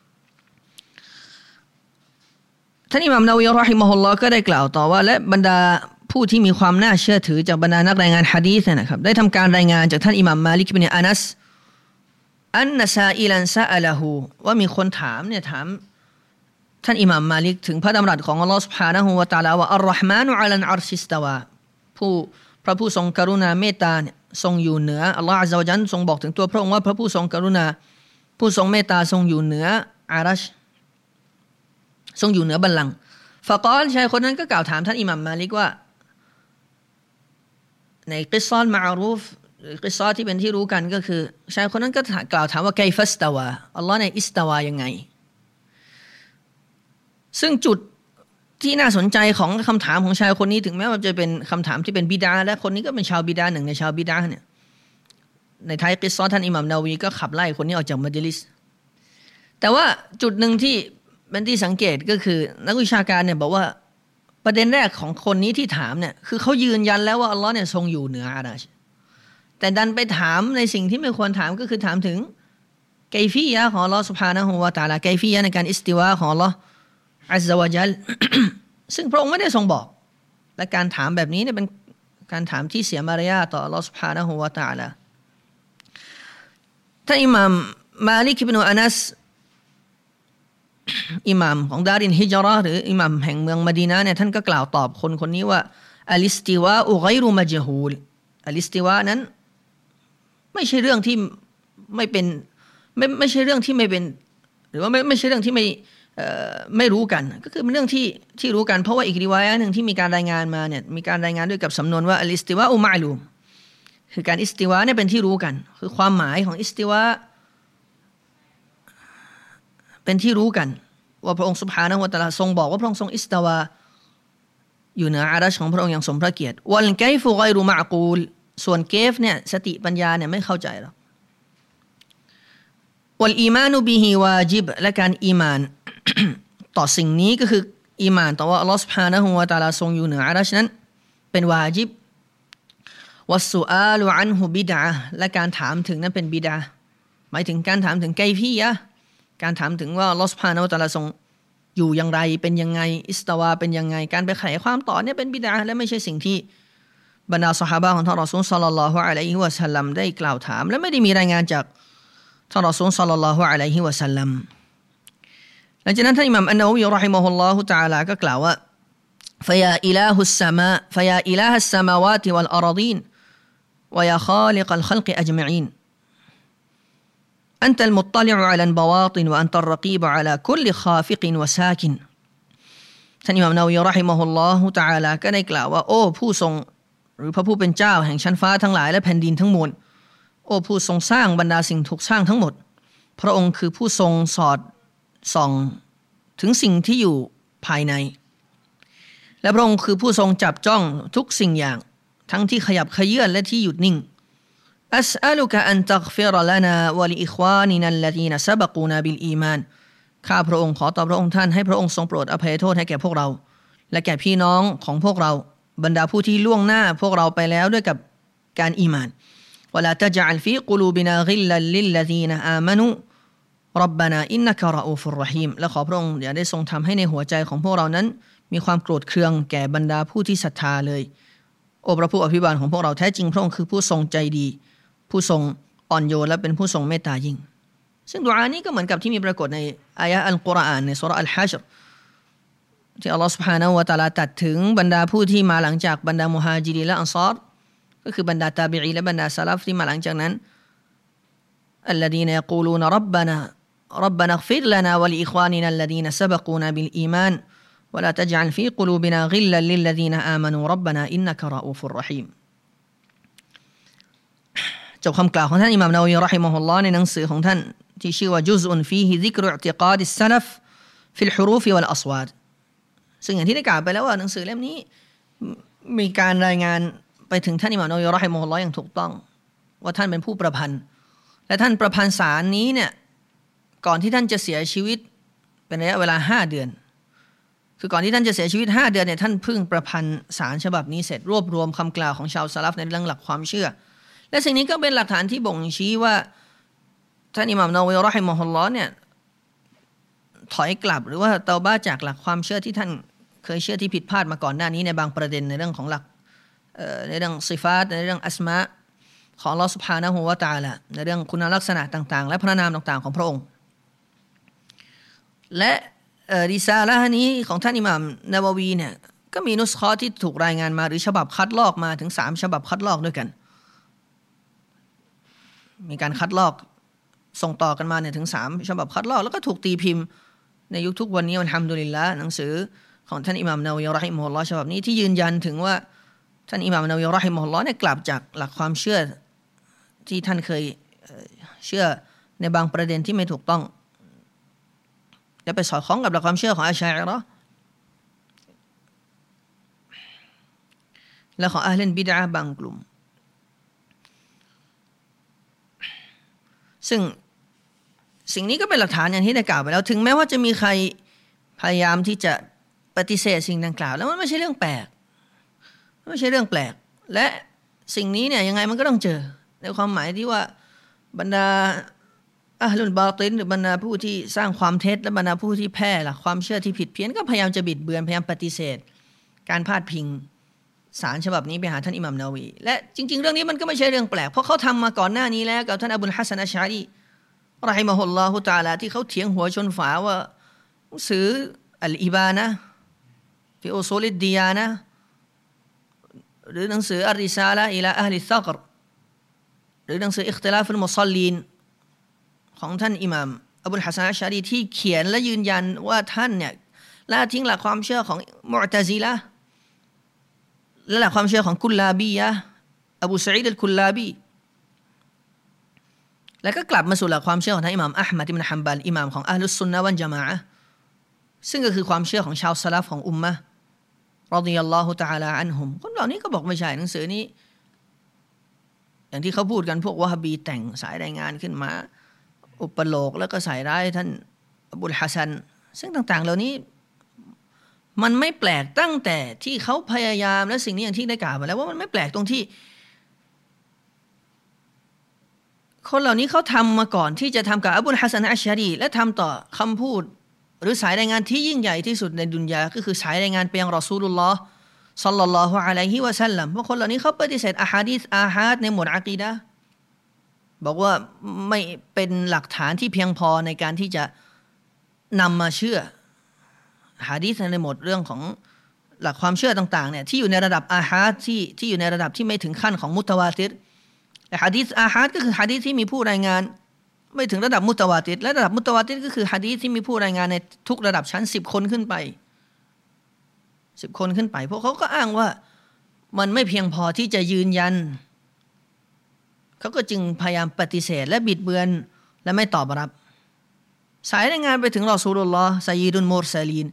ท่านอิหม่ามนาวีเราะฮิมะฮุลลอฮ์ก็ได้กล่าวต่อว่าและบรรดาผู้ที่มีความน่าเชื่อถือจากบรรดานักรายงานหะดีษนะครับได้ทำการรายงานจากท่านอิหม่ามมาลิกบินอานัสอันนะซาอิลันซะอะละฮูว่ามีคนถามท่านอิหม่ามมาลิกถึงพระดำรัสของอัลเลาะห์ซุบฮานะฮูวะตะอาลาว่าอัรเราะห์มานุอะลัลอัรชิสตาวาพระผู้ทรงกรุณาเมตตาเนี่ยทรงอยู่เหนืออัลเลาะห์อัซซะวะญัลทรงบอกถึงตัวพระองค์ว่าพระผู้ทรงกรุณาผู้ทรงเมตตาทรงอยู่เหนืออารัชทรงอยู่เหนือบัลลังก์ฟะกอลชายคนนั้นก็กล่าวถามท่านอิหม่ามมาลิกว่าในกิศซอนมะอรูฟกิศซอที่เป็นที่รู้กันก็คือชายคนนั้นก็กล่าวถามว่าไกฟัสตาวาอัลเลาะห์เนี่ยอิสตาวายังไงซึ่งจุดที่น่าสนใจของคำถามของชายคนนี้ถึงแม้ว่าจะเป็นคำถามที่เป็นบิดาและคนนี้ก็เป็นชาวบิดาหนึ่งในชาวบิดาเนี่ยในท้ายกิศซอท่านอิหม่ามนาวีก็ขับไล่คนนี้ออกจากมัจลิสแต่ว่าจุดหนึ่งที่เป็นที่สังเกตก็คือนักวิชาการเนี่ยบอกว่าประเด็นแรกของคนนี้ที่ถามเนี่ยคือเขายืนยันแล้วว่าอัลเลาะห์เนี่ยทรงอยู่เหนืออารัชแต่ดันไปถามในสิ่งที่ไม่ควรถามก็คือถามถึงไกฟียะห์ของอัลเลาะห์ซุบฮานะฮูวะตะอาลาไกฟียะห์ในการอิสติวาของอัลเลาะห์อัซซะวะญัล ซึ่งพระองค์ไม่ได้ทรงบอกและการถามแบบนี้เนี่ยเป็นการถามที่เสียมารยาทต่ออัลเลาะห์ซุบฮานะฮูวะตะอาลาท่านอิหม่ามมาลิกอิบนุอานัสอิหม่ามของดารินฮิจเราะห์หรืออิหม่ามแห่งเมืองมะดีนะห์เนี่ยท่านก็กล่าวตอบคนนี้ว่าอัลิสติวาอุฆอยรุมัจฮูลอัลอิสติวานั้นไม่ใช่เรื่องที่ไม่เป็นไม่ใช่เรื่องที่ไม่เป็นหรือว่าไม่ใช่เรื่องที่ไม่รู้กันก็คือเป็นเรื่องที่รู้กันเพราะว่าอีกริวายะห์นึงที่มีการรายงานมาเนี่ยมีการรายงานด้วยกับสำนวนว่าอัลอิสติวาอุมะลูมคือการอิสติวาเนี่ยเป็นที่รู้กันคือความหมายของอิสติวาเป็นที่รู้กันว่าพระองค์ซุบฮานะฮูวะตะอาลาทรงบอกว่าพระองค์ทรงอิสติวาอยู่เหนืออารัชของพระองค์อย่างสมพระเกียรติวัลไกฟุฆอยรุมะกูลส่วนเกฟเนี่ยสติปัญญาเนี่ยไม่เข้าใจหรอกวัลอีมานุบิฮิวาจิบและการอีมาน ต่อสิ่งนี้ก็คืออีมานต่อว่าอัลลอฮฺซุบฮานะฮูวะตะอาลาทรงอยู่เหนืออารัชนั้นเป็นวาจิบวัสซุอาลุอันฮุบิดะห์และการถามถึงนั้นเป็นบิดะห์หมายถึงการถามถึงไกฟียะห์การถามถึงว่าอัลลอฮฺซุบฮานะฮูวะตะอาลาทรงอยู่อย่างไรเป็นยังไงอิสตาวาเป็นยังไงการไปไขความต่อเนี่ยเป็นบิดะห์และไม่ใช่สิ่งที่บรรดาซอฮาบะห์ของท่านรอซูลศ็อลลัลลอฮุอะลัยฮิวะซัลลัมได้กล่าวถามและไม่ได้มีรายงานจากท่านรอซูลศ็อลลัลลอฮุอะลัยฮิวะซัลลัมหลังจากนั้นท่านอิหม่ามอันนะวีเราะฮิมะฮุลลอฮุตะอาลาก็กล่าวว่าفيا إله السماء فيا إله السماوات والأراضين ويا خالق الخلق أجمعين أنت المطلع على البواطن وأنت الرقيب على كل خافق وساكن ท่านอิหม่ามอันนะวีเราะฮิมะฮุลลอฮุตะอาลาก็ได้กล่าวว่าโอ้ผู้ทรงหรือพระผู้เป็นเจ้าแห่งชั้นฟ้าทั้งหลายและแผ่นดินทั้งมวลโอ้ผู้ทรงสร้างบรรดาสิ่งถูกสร้างทั้งหมดพระองค์คือผู้ทรงสอดส่องถึงสิ่งที่อยู่ภายในและพระองค์คือผู้ทรงจับจ้องทุกสิ่งอย่างทั้งที่ขยับเขยื้อนและที่หยุดนิ่งอัสอัลุกะอันตัฆฟิรลานาวะลิอิควานินัลลซีนซะบะกูนาบิลอีมานข้าพระองค์ขอต่อพระองค์ท่านให้พระองค์ทรงโปรดอภัยโทษให้แก่พวกเราและแก่พี่น้องของพวกเราบรรดาผู้ที่ล่วงหน้าพวกเราไปแล้วด้วยกับการอีมานวะลาตะญะอัลฟีกุลูบินากิลลัลลิลลซีนอามานูร็อบบานาอินนะกะรออูฟุรเราะฮีมและขอพระองค์อย่าได้ทรงทำให้ในหัวใจของพวกเรานั้นมีความโกรธเคืองแก่บรรดาผู้ที่ศรัทธาเลยโอ้พระผู้อภิบาลของพวกเราแท้จริงพระองค์คือผู้ทรงใจดีผู้ทรงอ่อนโยนและเป็นผู้ทรงเมตตายิ่งซึ่งดุอานี้ก็เหมือนกับที่มีปรากฏในอายะห์อัลกุรอานในซูเราะห์อัลฮัชรที่อัลลอฮฺซุบฮานะฮูวะตะอาลาตรัสถึงบรรดาผู้ที่มาหลังจากบรรดามุฮาญิรินและอันซอรก็คือบรรดาตาบิอีและบรรดาซะลัฟที่มาหลังจากนั้นอัลลดีนยะกูลูนร็อบบานาاغفر لنا ولإخواننا الذين سبقونا بالإيمان ولا تجعل في قلوبنا غلا للذين آمنوا ربنا إنك رؤوف رحيم จบคำกล่าวของท่านอิหม่ามนะวะวีเราะฮิมะฮุลลอฮ์ในหนังสือของท่านที่ชื่อว่าจุซอุนฟีฮิซิกรุอิอ์ติกาดิสซะลัฟฟิลฮุรูฟวัลอัศวาตซึ่งอย่างที่ได้กล่าวไปแล้วว่าหนังสือเล่มนี้มีการรายงานไปถึงท่านอิหม่ามนะวะวีเราะฮิมะฮุลลอฮ์อย่างถูกต้องว่าท่านเป็นผู้ประพันธ์และท่านประพันธ์สารนี้เนี่ยก่อนที่ท่านจะเสียชีวิตเป็นระยะเวลา5เดือนคือก่อนที่ท่านจะเสียชีวิต5เดือนเนี่ยท่านเพิ่งประพันธ์สารฉบับนี้เสร็จรวบรวมคำกล่าวของชาวซะลัฟในเรื่องหลักความเชื่อและสิ่งนี้ก็เป็นหลักฐานที่บ่งชี้ว่าท่านอิหม่ามนะวะวีเราะฮิมะฮุลลอฮ์เนี่ยถอยกลับหรือว่าเตาบะห์จากหลักความเชื่อที่ท่านเคยเชื่อที่ผิดพลาดมาก่อนหน้านี้ในบางประเด็นในเรื่องของหลักในเรื่องซิฟาตในเรื่องอัสมาของอัลเลาะห์ซุบฮานะฮูวะตะอาลาในเรื่องคุณลักษณะต่างๆและพระนามต่างๆของพระองค์และริซาละห์นี้ของท่านอิหม่ามนะวะวีเนี่ยก็มีนุสฆอที่ถูกรายงานมาหรือฉบับคัดลอกมาถึง3ฉบับคัดลอกด้วยกันมีการคัดลอกส่งต่อกันมาเนี่ยถึง3ฉบับคัดลอกแล้วก็ถูกตีพิมพ์ในยุคทุกวันนี้อัลฮัมดุลิลละห์หนังสือของท่านอิหม่ามนะวะวีเราะฮิมะฮุลลอฮ์ฉบับนี้ที่ยืนยันถึงว่าท่านอิหม่ามนะวะวีเราะฮิมะฮุลลอฮ์เนี่ยกลับจากหลักความเชื่อที่ท่านเคยเชื่อในบางประเด็นที่ไม่ถูกต้องและไปสอดคล้องกับหลักความเชื่อของอัชอะอิเราะห์และของอะห์ลุลบิดอะห์บางกลุ่มซึ่งสิ่งนี้ก็เป็นหลักฐานอย่างที่ได้กล่าวไปแล้วถึงแม้ว่าจะมีใครพยายามที่จะปฏิเสธสิ่งดังกล่าวแล้วมันไม่ใช่เรื่องแปลกไม่ใช่เรื่องแปลกและสิ่งนี้เนี่ยยังไงมันก็ต้องเจอในความหมายที่ว่าบรรดาอะห์ลุลบาตินหรือบรรดาผู้ที่สร้างความเท็จและบรรดาผู้ที่แพร่หลักความเชื่อที่ผิดเพี้ยนก็พยายามจะบิดเบือนพยายามปฏิเสธการพาดพิงสารฉบับนี้ไปหาท่านอิหม่ามนะวะวีและจริงๆเรื่องนี้มันก็ไม่ใช่เรื่องแปลกเพราะเขาทำมาก่อนหน้านี้แล้วกับท่านอบูลฮัสซันอัชอะรีเราะฮิมะฮุลลอฮุตะอาลาที่เขาเถียงหัวชนฝาว่าหนังสืออัลอิบานะห์ฟิอุซูลิดดียานะห์หรือหนังสืออัรริซาละอิลาอะห์ลิซักรหรือหนังสืออิคติลาฟุลมุศอลลีนของท่านอิหม่ามอบุลฮัสซันอัชชารีที่เขียนและยืนยันว่าท่านเนี่ยละทิ้งหลักความเชื่อของมุอ์ตะซิละห์และหลักความเชื่อของกุลลาบียะห์อบูซะอีดอัลกุลลาบีแล้วก็กลับมาสู่หลักความเชื่อของท่านอิหม่ามอะห์มัดอิบนุฮัมบัลอิหม่ามของอะห์ลุสซุนนะฮ์วัลญะมาอะห์ซึ่งก็คือความเชื่อของชาวสลัฟของอุมมะฮ์รอฎิยัลลอฮุตะอาลาอันฮุมคนเหล่านี้ก็บอกไม่ใช่หนังสือนี้อย่างที่เขาพูดกันพวกวะฮาบีแต่งสายรายงานขึ้นมาอุปโลกแล้วก็ใส่ร้ายท่านอบุลฮัสซันซึ่งต่างๆเหล่านี้มันไม่แปลกตั้งแต่ที่เขาพยายามและสิ่งนี้อย่างที่ได้กล่าวมาแล้วว่ามันไม่แปลกตรงที่คนเหล่านี้เขาทำมาก่อนที่จะทำกับอบุลฮัสซันอัชชารีและทำต่อคำพูดหรือสายรายงานที่ยิ่งใหญ่ที่สุดในดุนยาก็คือสายรายงานไปยังรอซูลุลลอฮ์ศ็อลลัลลอฮุอะลัยฮิวะซัลลัมเพราะคนเหล่านี้เขาปฏิเสธอะฮาดีษอาฮาดในหมวดอะกีดะห์บอกว่าไม่เป็นหลักฐานที่เพียงพอในการที่จะนำมาเชื่อหะดีษในหมวดเรื่องของหลักความเชื่อต่างๆเนี่ยที่อยู่ในระดับอาฮาดที่อยู่ในระดับที่ไม่ถึงขั้นของมุตะวาติรแต่หะดีษอาฮาดก็คือหะดีษที่มีผู้รายงานไม่ถึงระดับมุตะวาติรและระดับมุตะวาติรก็คือหะดีษที่มีผู้รายงานในทุกระดับชั้น10คนขึ้นไป10คนขึ้นไปพวกเขาก็อ้างว่ามันไม่เพียงพอที่จะยืนยันเขาก็จึงพยายามปฏิเสธและบิดเบือนและไม่ตอบรับสายรายงานไปถึงรอซูลุลลอฮ์ซัยยิดุลมุรซะลีน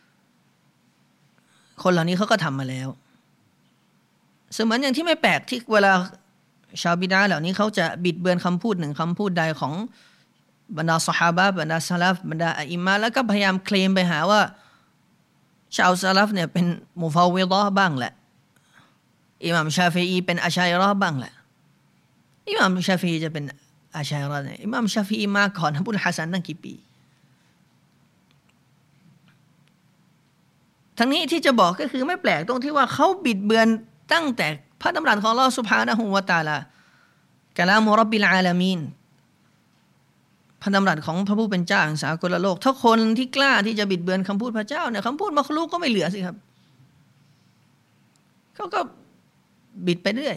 คนเหล่านี้เขาก็ทำมาแล้วเสมือนอย่างที่ไม่แปลกที่เวลาชาวบิดอะห์เหล่านี้เขาจะบิดเบือนคำพูดหนึ่งคำพูดใดของบรรดาซอฮาบะห์บรรดาซะลัฟบรรดาอะอิมามะแล้วก็พยายามเคลมไปหาว่าชาวซะลัฟเนี่ยเป็นมุฟาววิฎะห์บ้างแหละอิหม่ามชาฟิอีเป็นอะชัยเราะห์บ้างแหละอิหม่ามชาฟิอีจะเป็นอะชัยเราะห์เนี่ยอิหม่ามชาฟิอีมาก่อนอบุลฮัสซันตั้งกี่ปีทั้งนี้ที่จะบอกก็คือไม่แปลกตรงที่ว่าเขาบิดเบือนตั้งแต่พระดำรัสของอัลเลาะห์ซุบฮานะฮูวะตะอาลากะลามุร็อบบิลอาลามีนพระดำรัสของพระผู้เป็นเจ้าแห่งสากลโลกถ้าคนที่กล้าที่จะบิดเบือนคำพูดพระเจ้าเนี่ยคำพูดมักลุกก็ไม่เหลือสิครับเขาก็บิดไปเรื่อย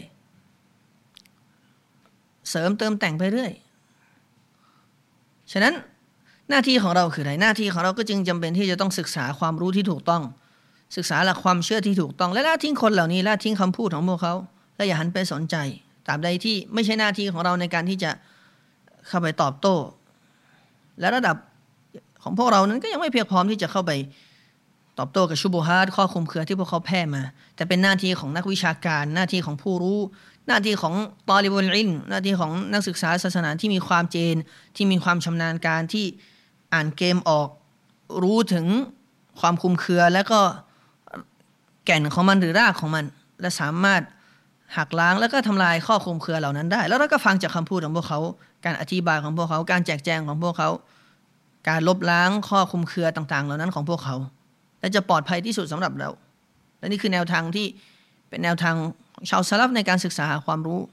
เสริมเติมแต่งไปเรื่อยฉะนั้นหน้าที่ของเราคืออะไรหน้าที่ของเราก็จึงจำเป็นที่จะต้องศึกษาความรู้ที่ถูกต้องศึกษาหลักความเชื่อที่ถูกต้องและละทิ้งคนเหล่านี้ละทิ้งคำพูดของพวกเขาและอย่าหันไปสนใจตราบใดที่ไม่ใช่หน้าที่ของเราในการที่จะเข้าไปตอบโต้และระดับของพวกเรานั้นก็ยังไม่เพียงพร้อมที่จะเข้าไปตอบโต้กับชุบฮาตข้อคลุมเครือที่พวกเขาแพร่มาแต่เป็นหน้าที่ของนักวิชาการหน้าที่ของผู้รู้หน้าที่ของตอลิบุลอิลม์หน้าที่ของนักศึกษาศาสนาที่มีความเจนที่มีความชำนาญการที่อ่านเกมออกรู้ถึงความคลุมเครือและก็แก่นของมันหรือรากของมันและสามารถหักล้างแล้วก็ทำลายข้อคลุมเครือเหล่านั้นได้แล้วเราก็ฟังจากคำพูดของพวกเขาการอธิบายของพวกเขาการแจกแจงของพวกเขาการลบล้างข้อคลุมเครือต่างๆเหล่านั้นของพวกเขาและจะปลอดภัยที่สุดสำหรับเราและนี่คือแนวทางที่เป็นแนวทางชาวซะลัฟในการศึกษาหาความรู้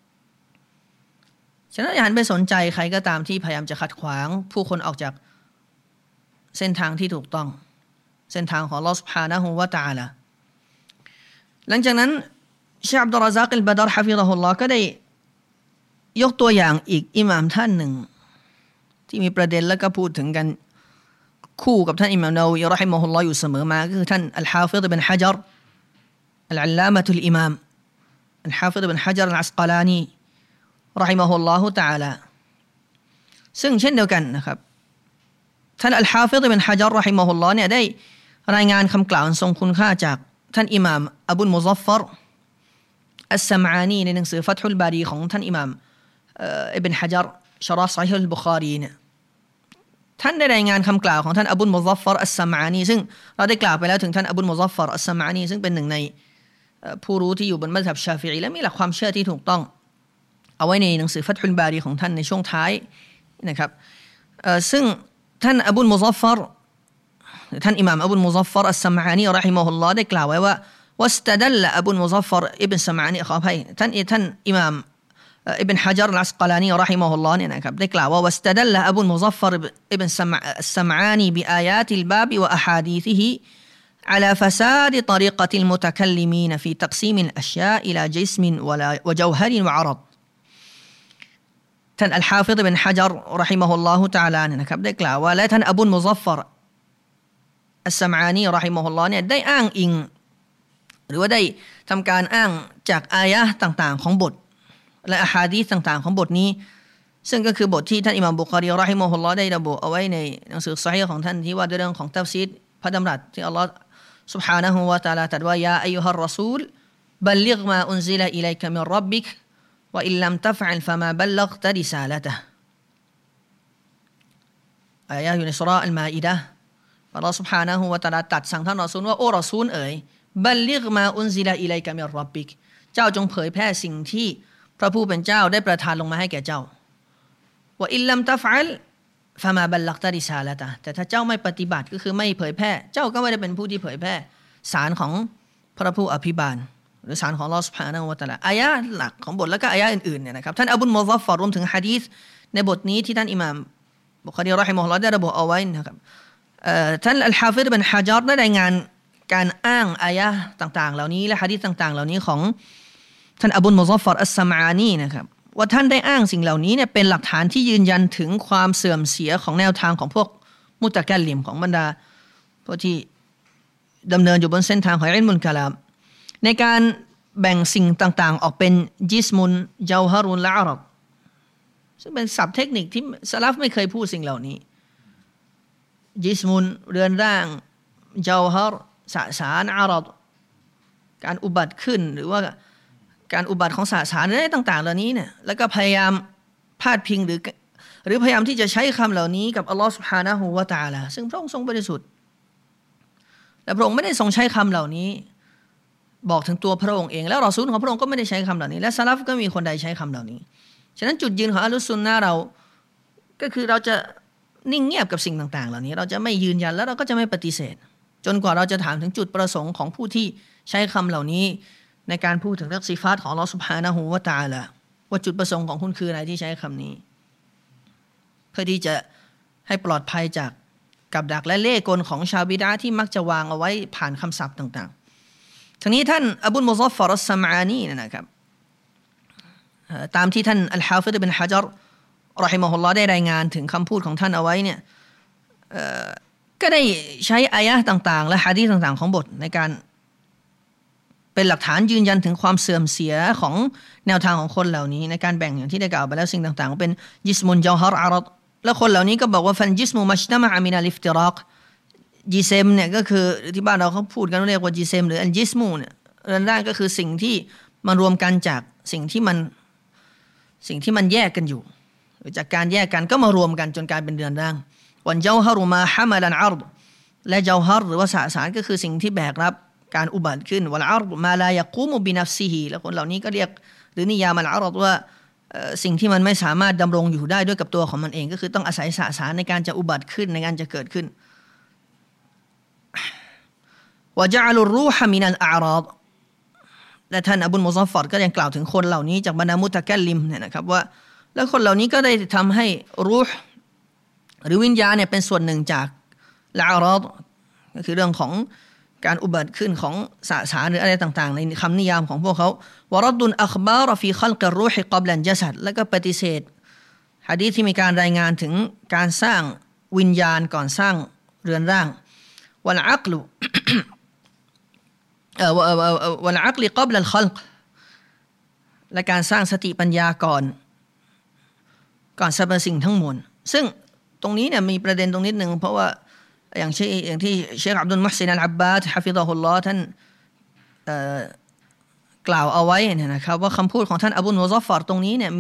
ฉะนั้นอย่าหันไปสนใจใครก็ตามที่พยายามจะขัดขวางผู้คนออกจากเส้นทางที่ถูกต้องเส้นทางของอัลเลาะห์ซุบฮานะฮูวะตะอาลาหลังจากนั้นเชค อับดุลรอซาก อัลบะดร ฮะฟิฎะฮุลลอฮ์ก็ได้ยกตัวอย่างอีกอิหม่ามท่านหนึ่งที่มีประเด็นแล้วก็พูดถึงกันคู่กับท่านอิหม่ามนาวีเราะฮิมะฮุลลอฮ์อยู่เสมอมาก็คือท่านอัลฮาฟิฎ อิบนุฮะญัรอัลอัลลามะตุลอิมามอัลฮาฟิฎ อิบนุฮะญัร อัลอัสกอลานีเราะฮิมะฮุลลอฮุตะอาลาซึ่งเช่นเดียวกันนะครับท่านอัลฮาฟิฎ อิบนุฮะญัร เราะฮิมะฮุลลอฮ์เนี่ยได้รายงานคำกล่าวทรงคุณค่าจากท่านอิหม่ามอบุลมุซัฟฟรอัสซะมอานีในหนังสือฟัตฮุลบารีของท่านอิหม่ามอิบนุฮะญัรชะรอห์ศอฮีฮุลบุคอรีเนี่ยท่านได้รายงานคำกล่าวของท่านอบุลมุซัฟฟรอัสซะมอานีซึ่งเราได้กล่าวไปแล้วถึงท่านอบุลมุซัฟฟรอัสซะมอานีซึ่งเป็นหนึ่งในผู้รู้ที่อยู่บนมัซฮับชาฟิอีและมีหลักความเชื่อที่ถูกต้องเอาไว้ในหนังสือฟัตฮุลบารีของท่านในช่วงท้ายนะครับซึ่งท่านอบุลมุซัฟฟรท่านอิหม่ามอบุลมุซัฟฟรอัสซะมอานีเราะฮิมะฮุลลอฮ์ได้กล่าวไว้ว่าواستدل أبو المظفر ابن سمعاني ขออภัยท่านอิหม่ามอิบนุฮะญัร อัลอัสกอลานีเราะฮิมะฮุลลอฮ์เนี่ยนะครับได้กล่าวว่า واستدل أبو المظفر ابن سمعاني بآيات الباب وأحاديثه على فساد طريقة المتكلمين في تقسيم الأشياء إلى جسم وجوهر وعرض ท่านอัลฮาฟิฎ บินฮะญัร เราะฮิมะฮุลลอฮุตะอาลาเนี่ยนะครับได้กล่าวว่าและท่านอบูลมุซัฟฟารอัสซะมอานีเราะฮิมะฮุลลอฮ์เนี่ยได้อ้างอิงหรือว่าได้ทำการอ้างจากอายะห์ต่างๆของบทและอะฮาดีษต่างๆของบทนี้ซึ่งก็คือบทที่ท่านอิหม่ามบุคอรีเราะฮิมะฮุลลอฮ์ได้ระบุเอาไว้ในหนังสือซอฮีฮ์ของท่านที่ว่าด้วยเรื่องของตัฟซีรพระดำรัสที่อัลลอฮ์ซุบฮานะฮูวะตะอาลาตรัสว่ายาอัยยูฮัรรอซูลบัลลิฆมาอุนซิละอิลัยกะมิรร็อบบิกวะอิลลัมตัฟอัลฟะมาบัลลัฆตะริซาละตะฮ์อายะห์อยู่ในซูเราะห์อัลมาอิดะห์อัลลอฮ์ซุบฮานะฮูวะตะอาลาตรัสสั่งท่านรอซูลว่าโอ้รอซูลเอ๋ยบัลลิฆมาอุนซิละอิลัยกะมิรร็อบบิกเจ้าจงเผยแพร่สิ่งที่พระผู้เป็นเจ้าได้ประทานลงมาให้แก่เจ้าว่าอิลลัมตัฟอัลฟะมาบัลลัฆตะริซาละตะฮ์แต่ถ้าเจ้าไม่ปฏิบัติก็คือไม่เผยแพร่เจ้าก็ไม่ได้เป็นผู้ที่เผยแพร่สารของพระผู้อภิบาลหรือสารของอัลเลาะห์ซุบฮานะฮูวะตะอาลาอายะห์หลักของบทแล้วก็อายะห์อื่นๆเนี่ยนะครับท่านอบูลมุซัฟฟารรวมถึงหะดีษในบทนี้ที่ท่านอิหม่ามบุคอรีเราะฮิมะฮุลลอฮ์ได้ระบุเอาไว้นะครับท่านอัลฮาฟิฎ บินฮะญัรได้รายงานการอ้างอายะห์ต่างๆเหล่านี้และหะดีษต่างๆเหล่านี้ของท่านอบูลมุซัฟฟารอัสซะมอานีนะครับว่าท่านได้อ้างสิ่งเหล่านี้เนี่ยเป็นหลักฐานที่ยืนยันถึงความเสื่อมเสียของแนวทางของพวกมุตะกัลลิมของบรรดาพวกที่ดำเนินอยู่บนเส้นทางของอิลมุลกะลามในการแบ่งสิ่งต่างๆออกเป็นจิสมุนเจาฮารุนและอารัดซึ่งเป็นศัพท์เทคนิคที่สลัฟไม่เคยพูดสิ่งเหล่านี้จิสมุนเรือนร่างเจาฮาร์สสารอารัดการอุบัติขึ้นหรือว่าการอุบัติของสสารอะไรต่างๆเหล่านี้เนี่ยแล้วก็พยายามพาดพิงหรือพยายามที่จะใช้คำเหล่านี้กับอัลลอฮฺซุบฮานะฮูวะตะอาลาซึ่งพระองค์ทรงบริสุทธิ์และพระองค์ไม่ได้ทรงใช้คำเหล่านี้บอกถึงตัวพระองค์เองแล้วรอซูลของพระองค์ก็ไม่ได้ใช้คำเหล่านี้และซะลัฟก็มีคนใดใช้คำเหล่านี้ฉะนั้นจุดยืนของอะห์ลุสซุนนะห์เราก็คือเราจะนิ่งเงียบกับสิ่งต่างๆเหล่านี้เราจะไม่ยืนยันแล้วเราก็จะไม่ปฏิเสธจนกว่าเราจะถามถึงจุดประสงค์ของผู้ที่ใช้คำเหล่านี้ในการพูดถึงเรื่องซิฟาตของอัลเลาะห์ซุบฮานะฮูวะตะอาลาว่าจุดประสงค์ของคุณคืออะไรที่ใช้คำนี้เพื่อที่จะให้ปลอดภัยจากกับดักและเล่ห์กลของชาวบิดอะห์ที่มักจะวางเอาไว้ผ่านคำศัพท์ต่างๆทั้งนี้ท่านอบูลมุซัฟฟารอัสซะมอานีนะครับตามที่ท่านอัลฮาฟิฎ บินฮะญัรเราะฮิมะฮุลลอฮ์ได้รายงานถึงคำพูดของท่านเอาไว้เนี่ยก็ได้ใช้อายะห์ต่างๆและหะดีษต่างๆของบทในการเป็นหลักฐานยืนยันถึงความเสื่อมเสียของแนวทางของคนเหล่านี้ในการแบ่งอย่างที่ได้กล่าวไปแล้วสิ่งต่างๆเป็นจิสมุนเจาฮาร์อารัดแล้วคนเหล่านี้ก็บอกว่าฟันจิสมุมัชตะมะอะมินัลอิฟติรอกจิเซมเนี่ยก็คือที่บ้านเราเขาพูดกันเรียกว่าจิเซมหรืออัลจิสมูเนี่ยเรื่องแรกก็คือสิ่งที่มันรวมกันจากสิ่งที่มันแยกกันอยู่หรือจากการแยกกันก็มารวมกันจนกลายเป็นเรือนร่างวันเจาฮารุมาฮะมะลันอัรฎและเจาฮาร์หรือว่าสสารก็คือสิ่งที่แบกรับการอุบัติขึ้นวัลอารฎมาลายะกูมุบินัฟซิฮิแล้วคนเหล่านี้ก็เรียกหรือนิยามอัลอารัฎว่าสิ่งที่มันไม่สามารถดำรงอยู่ได้ด้วยกับตัวของมันเองก็คือต้องอาศัยสสารในการจะอุบัติขึ้นในการจะเกิดขึ้นวะญะอะลุรรูฮะมินัลอารัฎและท่านอบูลมุซัฟฟารก็ยังกล่าวถึงคนเหล่านี้จากบรรดามุตะกัลลิมเนี่ยนะครับว่าแล้วคนเหล่านี้ก็ได้ทำให้รูห์หรือวิญญาณเนี่ยเป็นส่วนหนึ่งจากละอารัฎก็คือเรื่องของการอุบัติขึ้นของสสารหรืออะไรต่างๆในคำนิยามของพวกเขาวะรัดดุลอัคบารฟีคัลกิรรูฮิกับลันญะซัดแล้วก็ปฏิเสธหะดีษที่มีการรายงานถึงการสร้างวิญญาณก่อนสร้างเรือนร่างวัลอักลุวัลอักลิกับลัลคัลกและการสร้างสติปัญญาก่อนสรรพสิ่งทั้งมวลซึ่งตรงนี้เนี่ยมีประเด็นตรงนิดนึงเพราะว่าอย่างที่เชคอับดุลมุฮซินอัลอับบาดฮะฟิฎะฮุลลอฮ์ท่านกล่าวเอาไว้เนี่ยนะครับว่าคำพูดของท่านอบูลมุซัฟฟารตรงนี้เนี่ย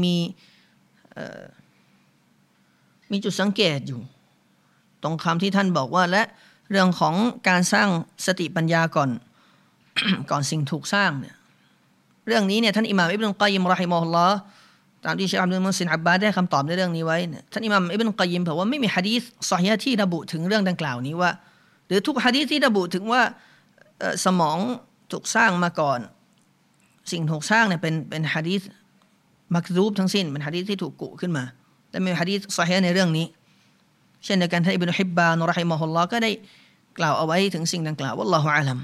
มีจุดสังเกตอยู่ตรงคำที่ท่านบอกว่าและเรื่องของการสร้างสติปัญญาก่อน ก่อนสิ่งถูกสร้างเนี่ยเรื่องนี้เนี่ยท่านอิหม่ามอิบนุลกอยยิมเราะฮิมะฮุลลอฮ์ตามที่เชคอับดุลมุฮซินอับบาดได้คำตอบในเรื่องนี้ไว้ท่านอิหม่ามอิบนุลกอยยิมบอกว่าไม่มีหะดีษซอฮีฮ์ที่ระบุถึงเรื่องดังกล่าวนี้ว่าหรือทุกหะดีษที่ระบุถึงว่าสมองถูกสร้างมาก่อนสิ่งถูกสร้างเนี่ยเป็นหะดีษมักซูบทั้งสิ้นเป็นหะดีษที่ถูกกุขึ้นมาแต่ไม่มีหะดีษซอฮีฮ์ในเรื่องนี้เช่นเดียวกันท่านอิบนุฮิบบานเราะฮิมะฮุลลอฮ์ก็ได้กล่าวเอาไว้ถึงสิ่งดังกล่าววัลลอฮุอาลัม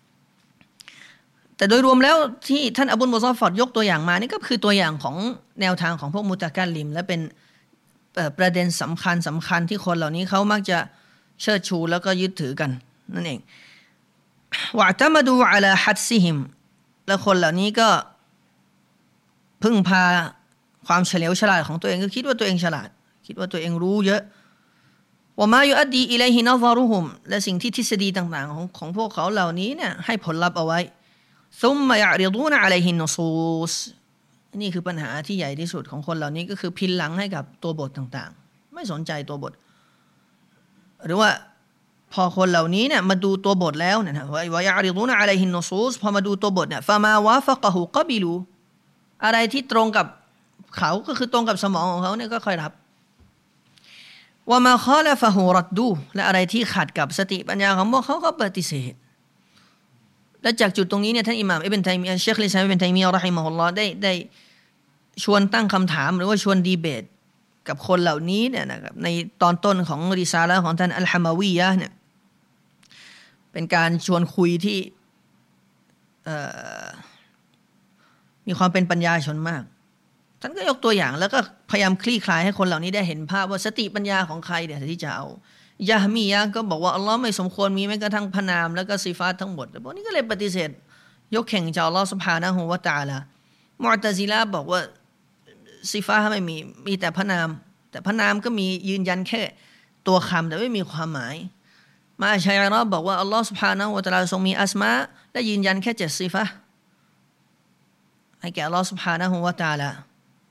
แต่โดยรวมแล้วที่ท่านอบูลมุซอฟฟัรยกตัวอย่างมานี่ก็คือตัวอย่างของแนวทางของพวกมุตะกัลลิมและเป็นประเด็นสำคัญที่คนเหล่านี้เขามักจะเชิดชูแล้วก็ยึดถือกันนั่นเองวะตะมะดูอะลาฮัดซิฮิมและคนเหล่านี้ก็พึ่งพาความเฉลียวฉลาดของตัวเองก็คิดว่าตัวเองฉลาดคิดว่าตัวเองรู้เยอะวะมายุอัดดีอิลัยฮินะซารุฮุมและสิ่งที่ทฤษฎีต่างๆของพวกเขาเหล่านี้เนี่ยให้ผลลัพธ์เอาไว้ซุมมะยะริดูนอะลัยฮินนุซูสนี่คือปัญหาที่ใหญ่ที่สุดของคนเหล่านี้ก็คือพินหลังให้กับตัวบทต่างๆไม่สนใจตัวบทหรือว่าพอคนเหล่านี้เนี่ยมาดูตัวบทแล้วนะวะยะริดูนอะลัยฮินนุซูสพอมาดูตัวบทเนี่ยฟะมาวาฟะกะฮูกะบิลูอะไรที่ตรงกับเขาก็คือตรงกับสมองของเขาเนี่ยก็ค่อยรับวะมาคอละฟะฮูรัดดูและอะไรที่ขัดกับสติปัญญาของพวกเขาก็ปฏิเสธและจากจุดตรงนี้เนี่ยท่านอิหม่ามอิบนุตัยมียะห์เชคลิซามอิบนุตัยมียะห์เราะฮิมะฮุลลอฮ์ได้ชวนตั้งคำถามหรือว่าชวนดีเบตกับคนเหล่านี้เนี่ยนะครับในตอนต้นของริซาละห์ของท่านอัลฮะมาวียะห์เนี่ยเป็นการชวนคุยที่มีความเป็นปัญญาชนมากท่านก็ยกตัวอย่างแล้วก็พยายามคลี่คลายให้คนเหล่านี้ได้เห็นภาพว่าสติปัญญาของใครเนี่ยที่จะเอายะฮ์มียะห์ก็บอกว่าอัลลอฮ์ไม่สมควรมีแม้กระทั่งพระนามแล้วก็ซิฟาตทั้งหมดพวกนี้ก็เลยปฏิเสธยกแข่งจากอัลลอฮ์ซุบฮานะฮูวะตะอาลามุอ์ตะซิละห์บอกว่าซิฟาตไม่มีแต่พระนามแต่พระนามก็มียืนยันแค่ตัวคำแต่ไม่มีความหมายมาอัชอะเราะห์บอกว่าอัลลอฮ์ซุบฮานะฮูวะตะอาลาทรงมีอัสมาและยืนยันแค่7ซิฟาตให้แก่อัลลอฮ์ซุบฮานะฮูวะตะอาลา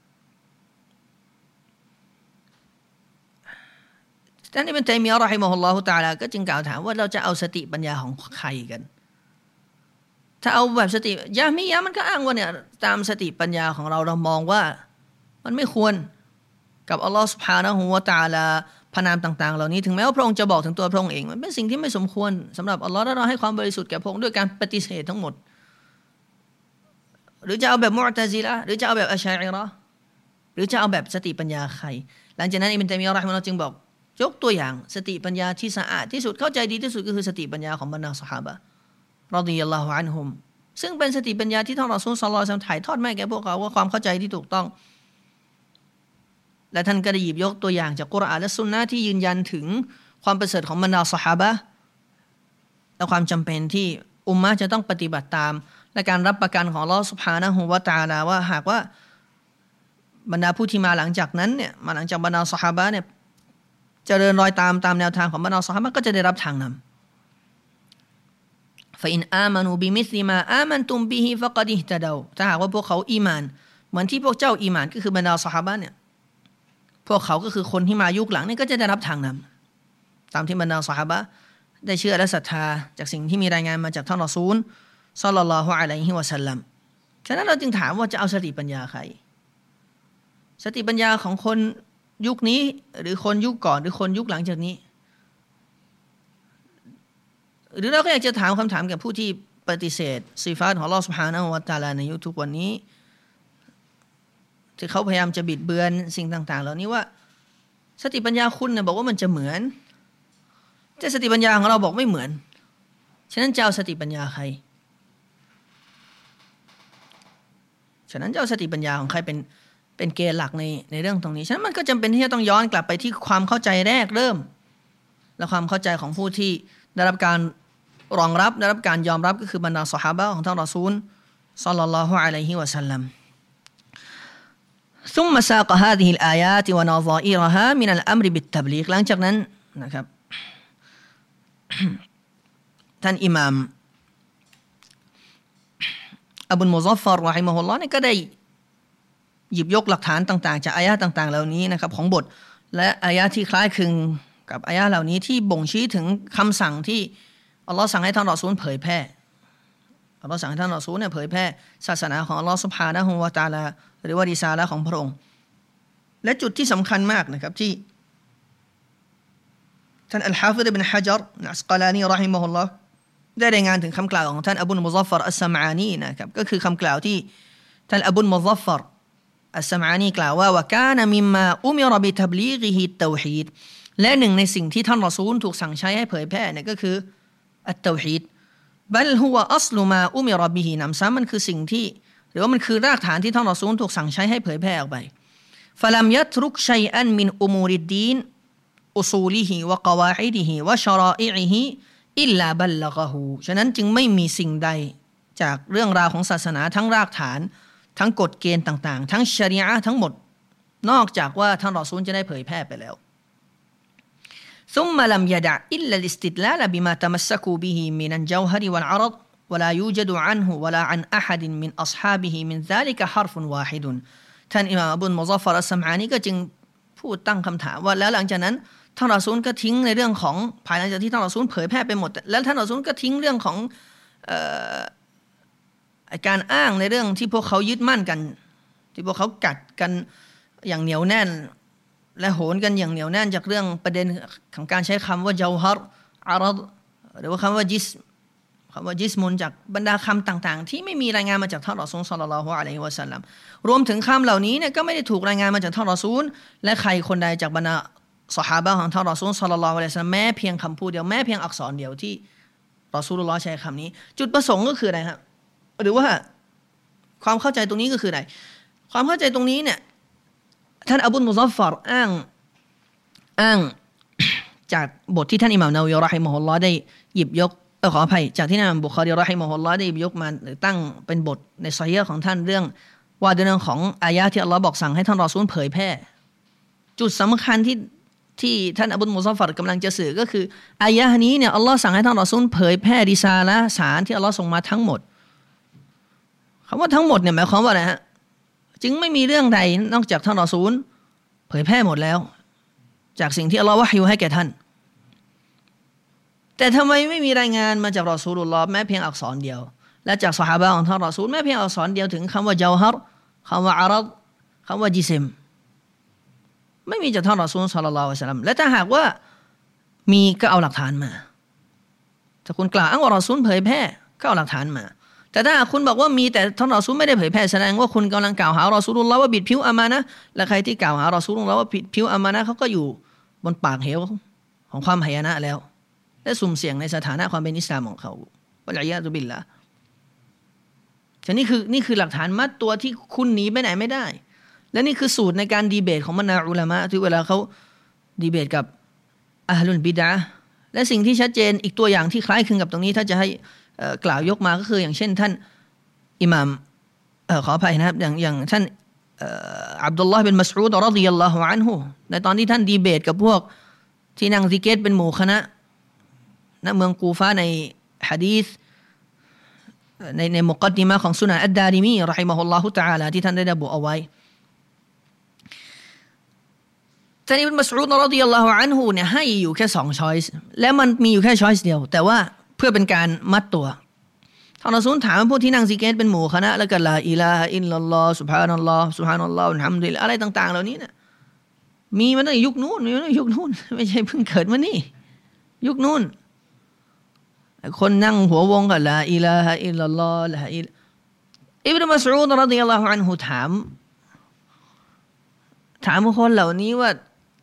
ท่านอิบนุตัยมียะห์เราะฮิมะฮุลลอฮุตะอาลาก็จึงกล่าวถามว่าเราจะเอาสติปัญญาของใครกันถ้าเอาแบบสติยะมียะห์มันก็อ้างว่าเนี่ยตามสติปัญญาของเรามองว่ามันไม่ควรกับอัลลอฮฺซุบฮานะฮูวะตะอาลาพระนามต่างๆเหล่านี้ถึงแม้ว่าพระองค์จะบอกถึงตัวพระองค์เองมันเป็นสิ่งที่ไม่สมควรสำหรับอัลลอฮฺและเราให้ความบริสุทธิ์แก่พระองค์ด้วยการปฏิเสธทั้งหมดหรือจะเอาแบบมุอ์ตะซิละห์หรือจะเอาแบบอัชอะอิเราะห์หรือจะเอาแบบสติปัญญาใครหลังจากนั้นอิบนุตัยมียะห์เราะฮิมะฮุลลอฮ์จึงบอกยกตัวอย่างสติปัญญาที่สะอาดที่สุดเข้าใจดีที่สุดก็คือสติปัญญาของบรรดาซอฮาบะห์รอฎิยัลลอฮุอันฮุมซึ่งเป็นสติปัญญาที่ท่านรอซูลศ็อลลัลลอฮุอะลัยฮิวะซัลลัมถ่ายทอดมาให้แก่พวกเขาว่าความเข้าใจที่ถูกต้องและท่านก็ได้หยิบยกตัวอย่างจากกุรอานและซุนนะห์ที่ยืนยันถึงความประเสริฐของบรรดาซอฮาบะห์และความจำเป็นที่อุมมะห์จะต้องปฏิบัติตามและการรับประกันของอัลเลาะห์ซุบฮานะฮูวะตะอาลาว่าหากว่าบรรดาผู้ที่มาหลังจากนั้นเนี่ยมาหลังจากบรรดาซอฮาบะห์เนี่ยเจริญรอยตามแนวทางของบรรดาซอฮาบะห์ก็จะได้รับทางนำฟะอินอามานูบิมิสลิมาอามันตุมบิฮิฟะกอดิฮตะดาวถ้าหากว่าพวกเขาอีหม่านเหมือนที่พวกเจ้าอีหม่านก็คือบรรดาซอฮาบะห์เนี่ยพวกเขาก็คือคนที่มายุคหลังนี่ก็จะได้รับทางนำตามที่บรรดาซอฮาบะห์ได้เชื่อและศรัทธาจากสิ่งที่มีรายงานมาจากท่านรอซูลศ็อลลัลลอฮุอะลัยฮิวะซัลลัมฉะนั้นเราจึงถามว่าจะเอาสติปัญญาใครสติปัญญาของคนยุคนี้หรือคนยุคก่อนหรือคนยุคหลังจากนี้หรือเราก็อยากจะถามคำถามกับผู้ที่ปฏิเสธซิฟาตของอัลเลาะห์ซุบฮานะฮูวะตะอาลาในยุคทุกวันนี้ที่เขาพยายามจะบิดเบือนสิ่งต่างๆเหล่านี้ว่าสติปัญญาคุณเนี่ยบอกว่ามันจะเหมือนแต่สติปัญญาของเราบอกไม่เหมือนฉะนั้นจะเอาสติปัญญาใครฉะนั้นจะเอาสติปัญญาของใครเป็นเกณฑ์หลักในเรื่องตรงนี้ฉะนั้นมันก็จำเป็นที่จะต้องย้อนกลับไปที่ความเข้าใจแรกเริ่มและความเข้าใจของผู้ที่ได้รับการรองรับได้รับการยอมรับก็คือบรรดาซอฮาบะห์ของท่านรอซูลศ็อลลัลลอฮุอะลัยฮิวะซัลลัมثم ساق هذه الآيات ونظائرها من الأمر بالتبليغ หลังจากนั้นนะครับท่านอิหม่ามอบุลมุซัฟฟัรเราะฮิมะฮุลลอฮ์เนี่ยก็ได้หยิบยกหลักฐานต่างๆจากอายะห์ต่างๆเหล่านี้นะครับของบทและอายะห์ที่คล้ายคลึงกับอายะห์เหล่านี้ที่บ่งชี้ถึงคำสั่งที่อัลเลาะห์สั่งให้ท่านรอซูลเผยแพร่อัลเลาะห์สั่งให้ท่านรอซูลเนี่ยเผยแพร่ศาสนาของอัลเลาะห์ซุบฮานะฮูวะตะอาลาหรือว่าริซาละห์ของพระองค์และจุดที่สำคัญมากนะครับที่ท่านอัลฮาฟิฎ อิบนุฮะญัร อัสกอลานีเราะฮิมะฮุลลอฮ์ได้รายงานถึงคำกล่าวของท่านอบุลมุซัฟฟัรอัสซะมอานีนะครับก็คือคำกล่าวที่ท่านอบุลมุซัฟฟัรอัสซะมอานีกล่าวว่าวะกานะมิมมาอุมิรบิตับลีฆิฮิตเตาฮีดและหนึ่งในสิ่งที่ท่านรอซูลถูกสั่งใช้ให้เผยแพร่เนี่ยก็คืออัตเตาฮีดบัลฮุวะอัศลุมาอุมิรบิฮินำซ้ำมันคือสิ่งที่หรือว่ามันคือรากฐานที่ท่านรอซูลถูกสั่งใช้ให้เผยแพร่ออกไปฟะลัมยัตรุกชัยอันมินอุมูริดดีนอุซูลิฮิวะกะวาอิดิฮิวะชะรออิอิฮิอิลลาบัลละกะฮูฉะนั้นจึงไม่มีสิ่งใดจากเรื่องราวของศาสนาทั้งรากฐานทั้งกฎเกณฑ์ต่างๆทั้งชะรีอะห์ทั้งหมดนอกจากว่าท่านรอซูลจะได้เผยแพร่ไปแล้วثم لم يدع إلا الاستدلال بما تمسكوا به من الجوهر والعرض ولا يوجد عنه ولا عن أحد من أصحابه من ذلك حرف واحد ท่านอิหม่ามอบุลมุซัฟฟัรอัสซัมอานีก็จึงพูดตั้งคำถามว่าแล้วหลังจากนั้นท่านรอซูลก็ทิ้งในเรื่องของภายหลังจากที่ท่านรอซูลเผยแพร่ไปหมดแล้วท่านรอซูลก็ทิ้งเรื่องของการอ้างในเรื่องที่พวกเขายึดมั่นกันที่พวกเขากัดกันอย่างเหนียวแน่นและโหนกันอย่างเหนียวแน่นจากเรื่องประเด็นของการใช้คำว่าเจาฮัรอารัดหรือว่าคำว่าจิสมุนจากบรรดาคำต่างๆที่ไม่มีรายงานมาจากท่านรอซูลศ็อลลัลลอฮุอะลัยฮิวะซัลลัมรวมถึงคำเหล่านี้เนี่ยก็ไม่ได้ถูกรายงานมาจากท่านรอซูลและใครคนใดจากบรรดาซอฮาบะห์ของท่านรอซูลศ็อลลัลลอฮุอะลัยฮิวะซัลลัมแม้เพียงคำพูดเดียวแม้เพียงอักษรเดียวที่รอซูลุลลอฮ์ใช้คำนี้จุดประสงค์ก็คืออะไรครับหรือว่าความเข้าใจตรงนี้ก็คืออะไรความเข้าใจตรงนี้เนี่ยท่านอบุลมุซัฟฟัรอ้างจากบทที่ท่านอิหม่ามนาวัวีเราะฮิมะฮุลลอฮ์ได้หยิบยกขออภัยจากที่อิหม่ามบุคอรีเราะฮิมะฮุลลอฮ์ได้หยิบยกมาตั้งเป็นบทในซอฮีฮ์ของท่านเรื่องว่าด้วยเรื่องของอายะห์ที่อัลเลาะห์บอกสั่งให้ท่านรอซูลเผยแพร่จุดสำคัญที่ท่านอบุลมุซัฟฟัรกำลังจะสื่อก็คืออายะห์นี้เนี่ยอัลเลาะห์สั่งให้ท่านรอซูลเผยแพร่ริซาละห์สารที่อัลเลาะห์ส่งมาทั้งหมดคำว่าทั้งหมดเนี่ยหมายความว่าอะไรฮะจึงไม่มีเรื่องใดนอกจากท่านรอซูลเผยแพร่หมดแล้วจากสิ่งที่อัลเลาะห์วะฮยูให้แก่ท่านแต่ทำไมไม่มีรายงานมาจากรอซูลุลลอฮ์แม้เพียงอักษรเดียวและจากซอฮาบะห์ของท่านรอซูลแม้เพียงอักษรเดียวถึงคำว่าเจาฮัรคำว่าอารัดคำว่าจิซิมไม่มีจากท่านรอซูลศ็อลลัลลอฮุอะลัยฮิวะซัลลัมและถ้าหากว่ามีก็เอาหลักฐานมาถ้าคุณกล่าวอ้างว่ารอซูลเผยแพร่ก็เอาหลักฐานมาแต่ถ้าคุณบอกว่ามีแต่ท่านรอซูลไม่ได้เผยแพร่แสดงว่าคุณกำลังกล่าวหารอซูลุลลอฮ์ว่าบิดผิวอามานะห์และใครที่กล่าวหารอซูลุลลอฮ์ว่าบิดผิวอามานะห์เขาก็อยู่บนปากเหวของความหายนะแล้วและสุ่มเสี่ยงในสถานะความเป็นอิสลามของเขาวะลัยยาซุบิลละแต่นี่คือหลักฐานมัดตัวที่คุณหนีไปไหนไม่ได้และนี่คือสูตรในการดีเบตของบรรดาอุลามะที่เวลาเขาดีเบตกับอะห์ลุลบิดอะห์และสิ่งที่ชัดเจนอีกตัวอย่างที่คล้ายคลึงกับตรงนี้ถ้าจะให้กล่าวยกมาก็คืออย่างเช่นท่านอิหม่ามขออภัยนะครับอย่างท่านอับดุลลอฮ์บินมัสอูดรอฎิยัลลอฮุอันฮุในตอนที่ท่านดีเบตกับพวกที่นั่งซิกเกตเป็นหมู่คณะณเมืองกูฟาในหะดีษในมุกัดดิมะห์ของซุนันอัดดาริมีเราะฮิมะฮุลลอฮุตะอาลาที่ท่านได้ระบุเอาไว้ท่านอิบนุมัสอูดรอฎิยัลลอฮุอันฮุเนี่ยให้อยู่แค่2ช้อยส์และมันมีอยู่แค่ช้อยส์เดียวแต่ว่าเพื่อเป็นการมัดตัวท่านรอซูลถามพวกที่นั่งซิกเกตเป็นหมู่คณะแล้วก็ลาอิลาฮะอิลลัลลอฮ์ซุบฮานัลลอฮ์ซุบฮานัลลอฮ์อัลฮัมดุลิลลาฮ์อะไรต่างๆเหล่านี้เนี่ยมีมาตั้งแต่ยุคนู้นไม่ใช่เพิ่งเกิดมานี่ยุคนู้นคนนั่งหัววงก็ลาอิลาฮะอิลลัลลอฮ์ลาอิบนุมัสอูดรอฎิยัลลอฮุอันฮุถามคนเหล่านี้ว่า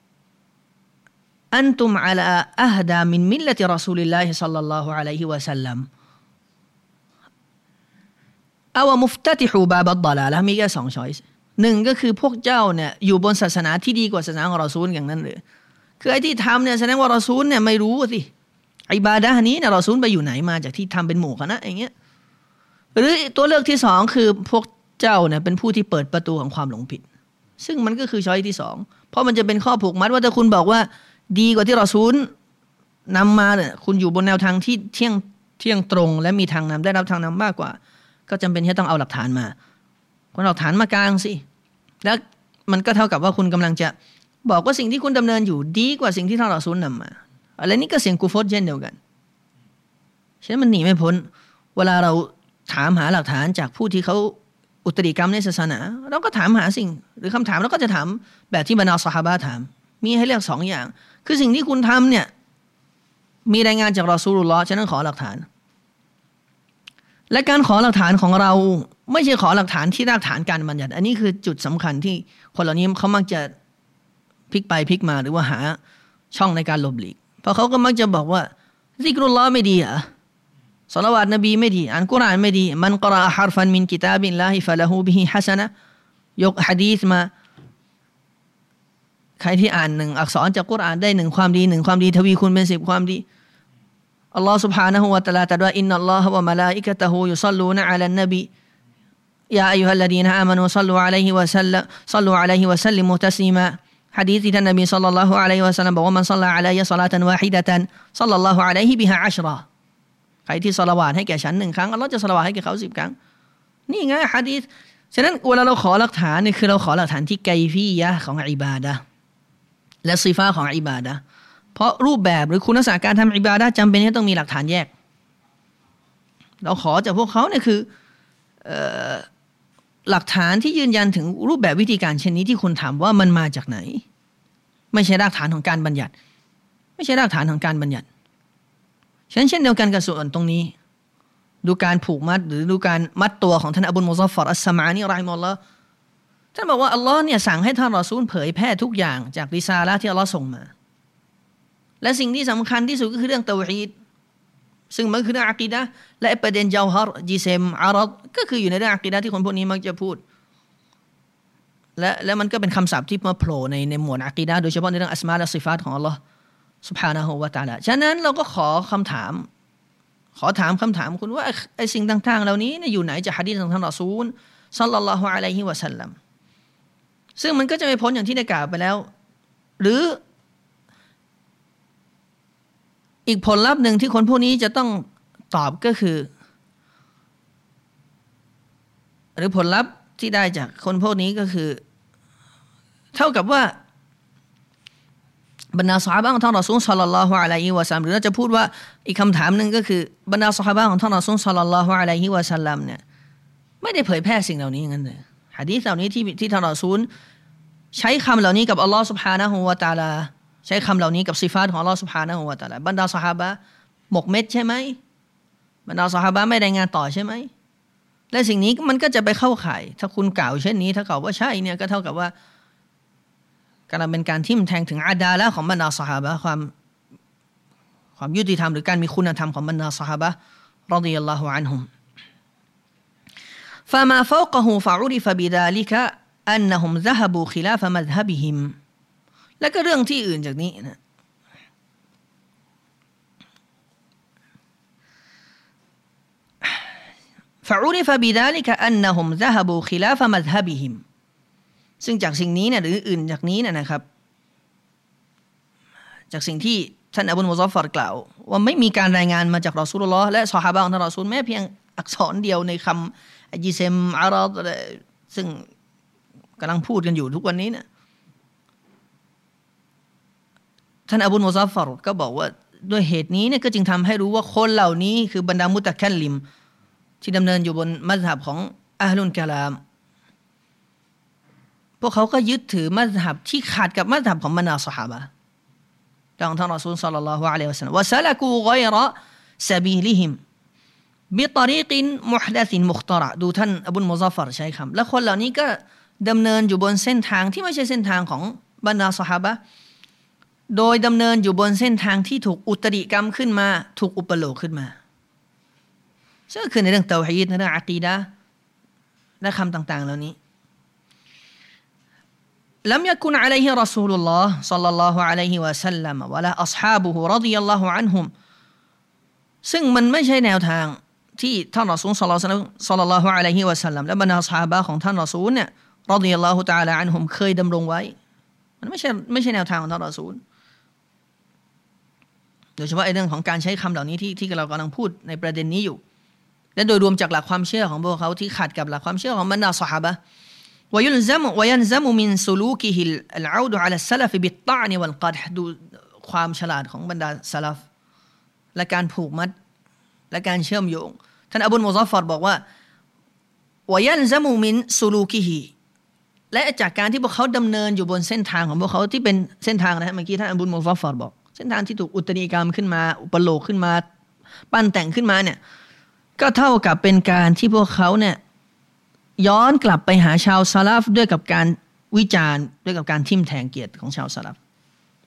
อันตุมอะลาอะฮดามินมิลละติรอซูลิลลาฮิศ็อลลัลลอฮุอะลัยฮิวะซัลลัมอาวมุฟตะติฮูบาบัดฎอลาละมีแค่2ช้อยส์1ก็คือพวกเจ้าเนี่ยอยู่บนศาสนาที่ดีกว่าศาสนาของรอซูลอย่างนั้นหรือคือไอ้ที่ทำเนี่ยแสดงว่ารอซูลเนี่ยไม่รู้สิอิบาดะห์นี้เนี่ยรอซูลไปอยู่ไหนมาจากที่ทำเป็นหมู่คณะอย่างเงี้ยหรือตัวเลือกที่2คือพวกเจ้าเนี่ยเป็นผู้ที่เปิดประตูของความหลงผิดซึ่งมันก็คือช้อยที่2เพราะมันจะเป็นข้อผูกมัดว่าถ้าคุณบอกว่าดีกว่าที่รอซูลนำมาเนี่ยคุณอยู่บนแนวทางที่เที่ยงตรงและมีทางนำได้รับทางนำมากกว่าก็จำเป็นที่ต้องเอาหลักฐานมาคุณเอาหลักฐานมากลางสิแล้วมันก็เท่ากับว่าคุณกำลังจะบอกว่าสิ่งที่คุณดำเนินอยู่ดีกว่าสิ่งที่ท่านรอซูลนำมาอะไรนี่ก็เสียงกุฟรเช่นเดียวกันฉะนั้นมันหนีไม่พ้นเวลาเราถามหาหลักฐานจากผู้ที่เขาอุตริกรรมในศาสนาเราก็ถามหาสิ่งหรือคำถามเราก็จะถามแบบที่บรรดาซอฮาบะห์ถามมีให้เลือก2อย่างคือสิ่งที่คุณทำเนี่ยมีรายงานจากรอซูลุลลอฮ์ฉะนั้นขอหลักฐานและการขอหลักฐานของเราไม่ใช่ขอหลักฐานที่รากฐานการบัญญัติอันนี้คือจุดสำคัญที่คนเหล่านี้เขามักจะพลิกไปพลิกมาหรือว่าหาช่องในการหลบหลีกเพราะเขาก็มักจะบอกว่าซิกรุลลอฮ์ไม่ดีเหรอศอลาวาตนบีไม่ดีอ่านกุรอานไม่ดีมันกะรออะฮารฟันมินกิตาบิลลาฮิฟะละฮูบิฮิฮะซะนะห์ยกหะดีษมาใครที่อ่าน1อักษรจากกุรอานได้1ความดี1ความดีทวีคูณเป็น10ความดีอัลลอฮ์ سبحانه และ تعالى ตรัสว่าอินนัลลอฮะวะมะลาอิกะตะฮูยุศ็อลลูนะอะลันนบียาอัยยูฮัลลดีนอามานูศ็อลลูอะลัยฮิวะซัลลัมศ็อลลูอะลัยฮิวะซัลลิมูตัสลีมาหะดีษที่ท่านนบีศ็อลลัลลอฮุอะลัยฮิวะซัลลัมบอกว่ามันศ็อลลาอะลัยศอลาตันวาฮิดะตันศ็อลลัลลอฮุอะลัยฮิบิฮาอัชเราะห์ใครที่ศอลาวาตให้แก่ฉัน1ครั้งอัลเลาะห์จะศอลาวาตให้แก่เขา10ครั้งนี่ไงหะดีษฉะนั้นเวลาเราขอหลักฐานนี่คือเราขอหลักฐานที่ไกฟียะห์ของอิบาดะห์และซิฟาของอิบาดะห์เพราะรูปแบบหรือคุณลักษณะการทำอิบาดะห์จำเป็นที่ต้องมีหลักฐานแยกเราขอจากพวกเขาเนี่ยคือหลักฐานที่ยืนยันถึงรูปแบบวิธีการเช่นนี้ที่คุณถามว่ามันมาจากไหนไม่ใช่รากฐานของการบัญญัติไม่ใช่รากฐานของการบัญญัติฉะนั้นเช่นเดียวกันกับส่วนตรงนี้ดูการผูกมัดหรือดูการมัดตัวของท่านอบูลมุซัฟฟัรอัสสมานีรอฮิมะฮุลลอฮ์ท่านบอกว่าอัลลอฮ์เนี่ยสั่งให้ท่านรอซูลเผยแพร่ทุกอย่างจากริซาละห์ที่อัลลอฮ์ส่งมาและสิ่งที่สำคัญที่สุดก็คือเรื่องเตาฮีดซึ่งมันคือเรื่องอะกีดะห์และประเด็นเจาฮัรจิซิมอารัดก็คืออยู่ในเรื่องอะกีดะห์ที่คนพวกนี้มักจะพูดและมันก็เป็นคำศัพท์ที่มาโผล่ในหมวดอะกีดะห์โดยเฉพาะในเรื่องอัสมาและซิฟาตของอัลลอฮ์ซุบฮานะฮูวะตะอาลาฉะนั้นเราก็ขอถามคำถามคุณว่าไอ้สิ่งต่างๆเหล่านี้เนี่ยอยู่ไหนจากหะดีษของท่านรอซูลศ็อลลัลลอฮุอะลัยฮิวะซัลลัมซึ่งมันก็จะไม่พ้นอย่างที่ได้กล่าวไปแล้วหรืออีกผลลัพธ์หนึ่งที่คนพวกนี้จะต้องตอบก็คือหรือผลลัพธ์ที่ได้จากคนพวกนี้ก็คือเท่ากับว่าบรรดาซอฮาบะห์ของท่านรอซูลศ็อลลัลลอฮุอะลัยฮิวะซัลลัมหรือเราจะพูดว่าอีกคำถามหนึ่งก็คือบรรดาซอฮาบะห์ของท่านรอซูลศ็อลลัลลอฮุอะลัยฮิวะซัลลัมเนี่ยไม่ได้เผยแพร่สิ่งเหล่านี้งั้นเลยหะดีษเหล่านี้ที่ท่านรอซูลใช้คำเหล่านี้กับอัลลอฮ์ซุบฮานะฮูวะตะอาลาใช้คำเหล่านี้กับซิฟาตของอัลลอฮ์ซุบฮานะฮูวะตะอาลาบรรดาซอฮาบะห์หมกเม็ดใช่ไหมบรรดาซอฮาบะห์ไม่รายงานต่อใช่ไหมและสิ่งนี้มันก็จะไปเข้าข่ายถ้าคุณกล่าวเช่นนี้ถ้าเขาว่าใช่เนี่ยก็เท่ากับว่าการเป็นการทิ่มแทงถึงอาดาละห์ของบรรดาซอฮาบะห์ความยุติธรรมหรือการมีคุณธรรมของบรรดาซอฮาบะห์รอฎิยัลลอฮุอันฮุม فما فوقه فعرف بذلك أنهم ذهبوا خلاف مذهبهم แล้วก็เรื่องที่อื่นจากนี้นะفعرف بذلك أنهم ذهبوا خلاف مذهبهم ซึ่งจากสิ่งนี้เนี่ยหรืออื่นจากนี้นะครับจากสิ่งที่ท่านอบูลมุซัฟฟัรกล่าวว่าไม่มีการรายงานมาจากรอซูลุลลอฮ์และซอฮาบะห์ของท่านรอซูลแม้เพียงอักษรเดียวในคำจิเซมอารัดซึ่งกำลังพูดกันอยู่ทุกวันนี้เนี่ยท่านอบูลมุซัฟฟัรก็บอกว่าด้วยเหตุนี้เนี่ยก็จึงทำให้รู้ว่าคนเหล่านี้คือบรรดามุตะคัลลิมที่ดำเนินอยู่บนมัซฮับของอะฮลุลกะลามพวกเขาก็ยึดถือมัซฮับที่ขัดกับมัซฮับของบรรดาซอฮาบะห์ดังท่านรอซูลศ็อลลัลลอฮุอะลัยฮิวะซัลลัมวะซะละกูฆอยเราะซะบีลิฮิมบิตอรีกินมุฮดะซินมุคตะเราะดูท่านอบูลมุซัฟฟัรใช้คำและคนเหล่านี้ก็ดำเนินอยู่บนเส้นทางที่ไม่ใช่เส้นทางของบรรดาซอฮาบะห์โดยดำเนินอยู่บนเส้นทางที่ถูกอุตริกรรมขึ้นมาถูกอุปโลกขึ้นมาซึ่งคือในเรื่องเตาฮีดในเรื่องอะกีดะห์และคำต่างๆเหล่านี้لم يكن عليه رسول الله صلى الله عليه وسلم ولا أصحابه رضي الله عنهم ซึ่งมันไม่ใช่แนวทางที่ท่านรอซูลศ็อลลัลลอฮุอะลัยฮิวะซัลลัมและบรรดาซอฮาบะห์ของท่านรอซูลเนี่ยรอฎิยัลลอฮุตะอาลาอันฮุมเคยดำรงไว้มันไม่ใช่แนวทางของท่านรอซูลโดยเฉพาะเรื่องของการใช้คำเหล่านี้ที่เรากำลังพูดในประเด็นนี้อยู่และโดยรวมจากหลักความเชื่อของพวกเขาที่ขัดกับหลักความเชื่อของบรรดาซอฮาบะห์ويلزم من سلوكه العود على السلف بالطعن والقدح ดูความฉลาดของบรรดาซะลัฟและการผูกมัดและการเชื่อมโยงท่านอบูลมุซัฟฟัรบอกว่า ويلزم من سلوكه และจากการที่พวกเขาดำเนินอยู่บนเส้นทางของพวกเขาที่เป็นเส้นทางนะเมื่อกี้ท่านอบูลมุซัฟฟัรบอกเส้นทางที่ถูกอุตริกรรมขึ้นมาอุปโลกขึ้นมาปั้นแต่งขึ้นมาเนี่ยก็เท่ากับเป็นการที่พวกเขาเนี่ยย้อนกลับไปหาชาวซะลัฟด้วยกับการวิจารณ์ด้วยกับการทิ่มแทงเกียรติของชาวซะลัฟ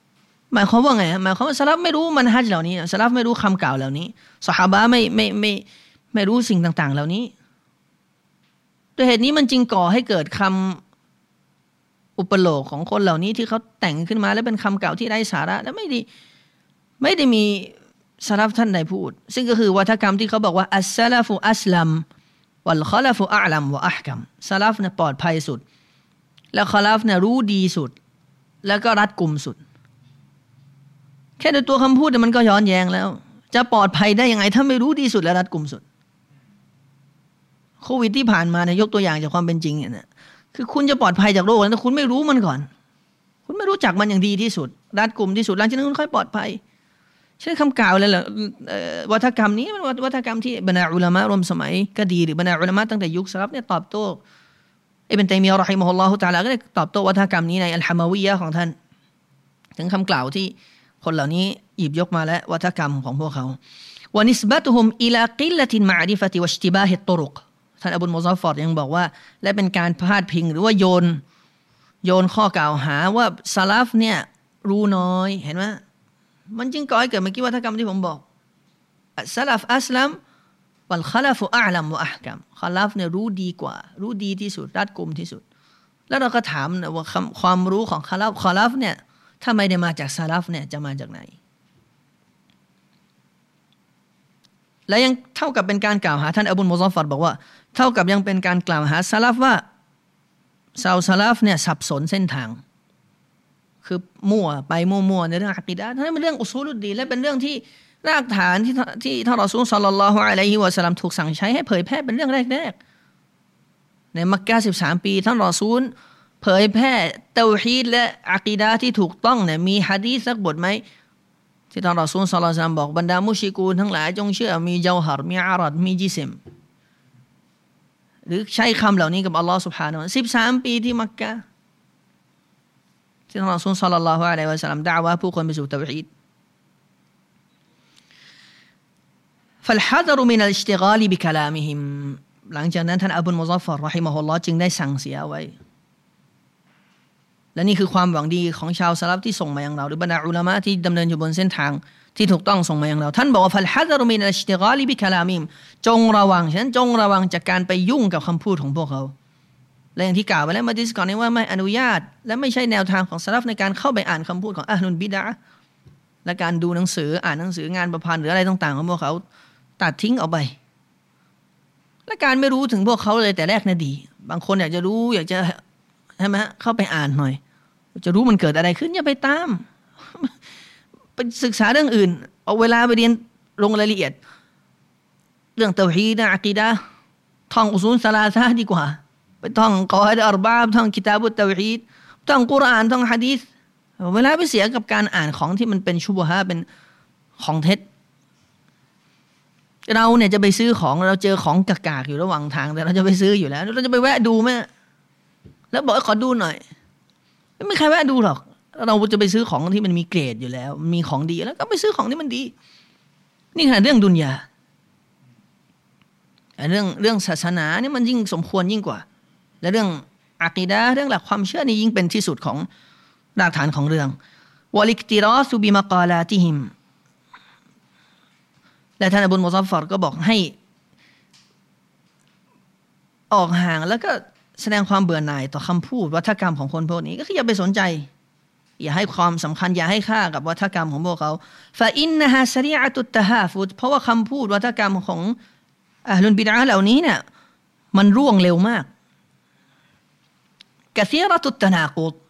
หมายความว่าไงหมายความว่าสลับไม่รู้มันฮัจญ์เหล่านี้สลับไม่รู้คำกล่าวเหล่านี้ซอฮาบะห์ไม่รู้สิ่งต่างๆเหล่านี้ด้วยเหตุนี้มันจึงก่อให้เกิดคำอุปโลกของคนเหล่านี้ที่เขาแต่งขึ้นมาและเป็นคำกล่าวที่ไร้สาระและไม่ได้มีสลับท่านใดพูดซึ่งก็คือวัฒกรรมที่เขาบอกว่าอัสซะลาฟุอัสลัมวัลคอลฟุอะลัมวะอะห์กัมสลับเนี่ยปลอดภัยสุดแล้วคอลฟเนี่ยรู้ดีสุดแล้วก็รัดกุมสุดแค่ในตัวคำพูดมันก็ย้อนแย้งแล้วจะปลอดภัยได้ยังไงถ้าไม่รู้ดีสุดและรัดกุมสุดโควิดที่ผ่านมาเนี่ยยกตัวอย่างจากความเป็นจริงเนี่ยคือคุณจะปลอดภัยจากโรคแล้วคุณไม่รู้มันก่อนคุณไม่รู้จักมันอย่างดีที่สุดรัดกุมที่สุดหลังจากนั้นคุณค่อยปลอดภัยเช่นคำกล่าวเลยแหละวัฒกรรมนี้มันวัฒกรรมที่บรรดาอุลามะรวมสมัยก็ดีหรือบรรดาอุลามะตั้งแต่ยุคสลับเนี่ยตอบโต้อิบนุตัยมียะห์เราะฮิมะฮุลลอฮุตะอาลาก็ได้ตอบโต้วัฒกรรมนี้ในอัลฮะมาวียะห์ของท่านถึงคำกล่าวที่คนเหล่านี้หยิบยกมาและวัฒกรรมของพวกเขาวะนิสบะตุฮุมอิลากิลละตินมะอริฟะติวัชติบาฮิตตุรุกท่านอบูลมุซัฟฟอรยังบอกว่าและเป็นการพาดพิงหรือว่าโยนข้อกล่าวหาว่าซะลัฟเนี่ยรู้น้อยเห็นไหมมันจึงก่อให้เกิดเมื่อกี้วัฒกรรมที่ผมบอกซะลัฟอัสลัมวัลคอลฟุอะลัมวะอะห์กัมคอลฟเนี่ยรู้ดีกว่ารู้ดีที่สุดรัดกุมที่สุดแล้วเราก็ถามนะว่าความรู้ของคอลฟเนี่ยถ้าไม่ได้มาจากซะลัฟเนี่ยจะมาจากไหนและยังเท่ากับเป็นการกล่าวหาท่านอบูลมุซัฟฟาร์บอกว่าเท่ากับยังเป็นการกล่าวหาซะลัฟว่าชาวซะลัฟเนี่ยสับสนเส้นทางคือมั่วในเรื่องอะกีดะห์นั่นเป็นเรื่องอุซูลุดดีนและเป็นเรื่องที่รากฐานที่ท่านรอซูลศ็อลลัลลอฮุอะลัยฮิวะซัลลัมถูกสั่งใช้ให้เผยแพร่เป็นเรื่องแรกๆในมักกะฮ์13ปีท่านรอซูลเผยแพร่เตาฮีดและอะกีดะห์ที่ถูกต้องเนี่ยมีหะดีษสักบทมั้ยที่ท่านรอซูลศ็อลลัลลอฮุอะลัยฮิวะซัลลัมบอกบรรดามุชริกูนทั้งหลายจงเชื่อมีเจาฮัรมีอารัดมีจิสมหรือใช้คำเหล่านี้กับอัลเลาะห์ซุบฮานะฮูวะตะอาลา13ปีที่มักกะฮ์ที่ท่านรอซูลศ็อลลัลลอฮุอะลัยฮิวะซัลลัมดะอ์วะห์ผู้คนไปสู่เตาฮีดفالحذر من الاشتغال بكلامهم หลังจากนั้นท่านอบูลมุซัฟฟาร์เราะฮิมะฮุลลอฮ์จึงได้สั่งเสียไว้และนี่คือความหวังดีของชาวซะลัฟที่ส่งมายังเราหรือบรรดาอุลามะที่ดำเนินอยู่บนเส้นทางที่ถูกต้องส่งมายังเราท่านบอกว่าฟัลฮัซรุมินัลอิชติฆาลิบิคลามิมจงระวังฉะนั้นจงระวังจากการไปยุ่งกับคำพูดของพวกเขาและอย่างที่กล่าวไปแล้วมาดิสก่อนนี้ว่าไม่อนุญาตและไม่ใช่แนวทางของซะลัฟในการเข้าไปอ่านคำพูดของอะห์ลุลบิดะห์และการดูหนังสืออ่านหนังสืองานประพันธ์หรืออะไรต่างๆของพวกเขาตัดทิ้งออกไปและการไม่รู้ถึงพวกเขาเลยแต่แรกน่ะดีบางคนอยากจะรู้อยากจะใช่ไหมเข้าไปอ่านหน่อยจะรู้มันเกิดอะไรขึ้นอย่าไปตามไปศึกษาเรื่องอื่นเอาเวลาไปเรียนลงรายละเอียดเรื่องเตาฮีดอะกีดะห์ท่องอุซูลซะลาซะห์ดีกว่าไปท่องกออิดอัรบะอ์ท่องกิตาบุตเตาฮีดท่องกุรอานท่องหะดีษเวลาไปเสียกับการอ่านของที่มันเป็นชุบฮะห์เป็นของเท็จเราเนี่ยจะไปซื้อของเราเจอของกากๆอยู่ระหว่างทางแต่เราจะไปซื้ออยู่แล้วเราจะไปแวะดูมั้ยแล้วบอกขอดูหน่อยไม่มีใครแวะดูหรอกเราจะไปซื้อของที่มันมีเกรดอยู่แล้วมีของดีแล้วก็ไปซื้อของที่มันดีนี่ขนาดเรื่องดุนยาเรื่องศาสนาเนี่ยมันยิ่งสมควรยิ่งกว่าและเรื่องอะกีดะห์เรื่องหลักความเชื่อนี่ยิ่งเป็นที่สุดของรากฐานของเรื่องวะลิกติรอซุบิมะกาลาติฮิมและท่านอบูลมุซัฟฟาร์ก็บอกให้ออกห่างแล้วก็แสดงความเบื่อหน่ายต่อคำพูดวัฒกรรมของคนพวกนี้ก็คืออย่าไปสนใจอย่าให้ความสำคัญอย่าให้ค่ากับวัฒกรรมของพวกเขาฟะอินนะฮาซะรีอะตุตตะฮาฟุดเพราะว่าคำพูดวัฒกรรมของอะห์ลุลบิดอะห์เหล่านี้เนี่ยมันร่วงเร็วมากกะซีเราะตุตตะนากุด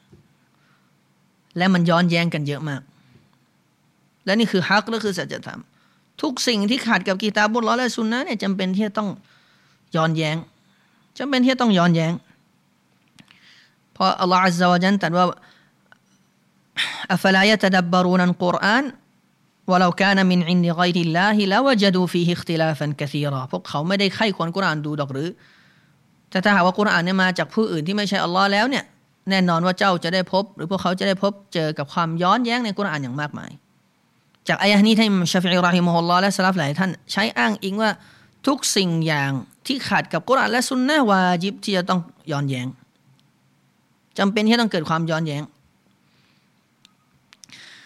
และมันย้อนแย้งกันเยอะมากและนี่คือฮักและคือสัจธรรมทุกสิ่งที่ขัดกับกิตาบุลลอฮ์และซุนนะห์เนี่ยจำเป็นที่จะต้องย้อนแย้งจำเป็นที่จะต้องย้อนแย้งเพราะอัลลอฮ์อัซซะวะญัลตรัสว่าอัฟลายะตะดับบะรูนัลกุรอานวะลาคานะมินอินดิฆอยริลลาฮิละวะญะดูฟีฮิอิคติลาฟันกะซีรอพวกเขาไม่ได้ใคร่ครวญกุรอานดูดอกหรือแต่ถ้าหากว่ากุรอานเนี่ยมาจากผู้อื่นที่ไม่ใช่อัลลอฮ์แล้วเนี่ยแน่นอนว่าเจ้าจะได้พบหรือพวกเขาจะได้พบเจอกับความย้อนแย้งในกุรอานอย่างมากมายจากอายะห์นี้ท่านอิหม่ามชาฟิอีเราะฮิมะฮุลลอฮ์และซะลัฟหลายท่านใช้อ้างอิงว่าทุกสิ่งอย่างที่ขัดกับกุรอานและซุนนะห์วาญิบที่จะต้องย้อนแย้งจำเป็นที่ต้องเกิดความย้อนแย้ง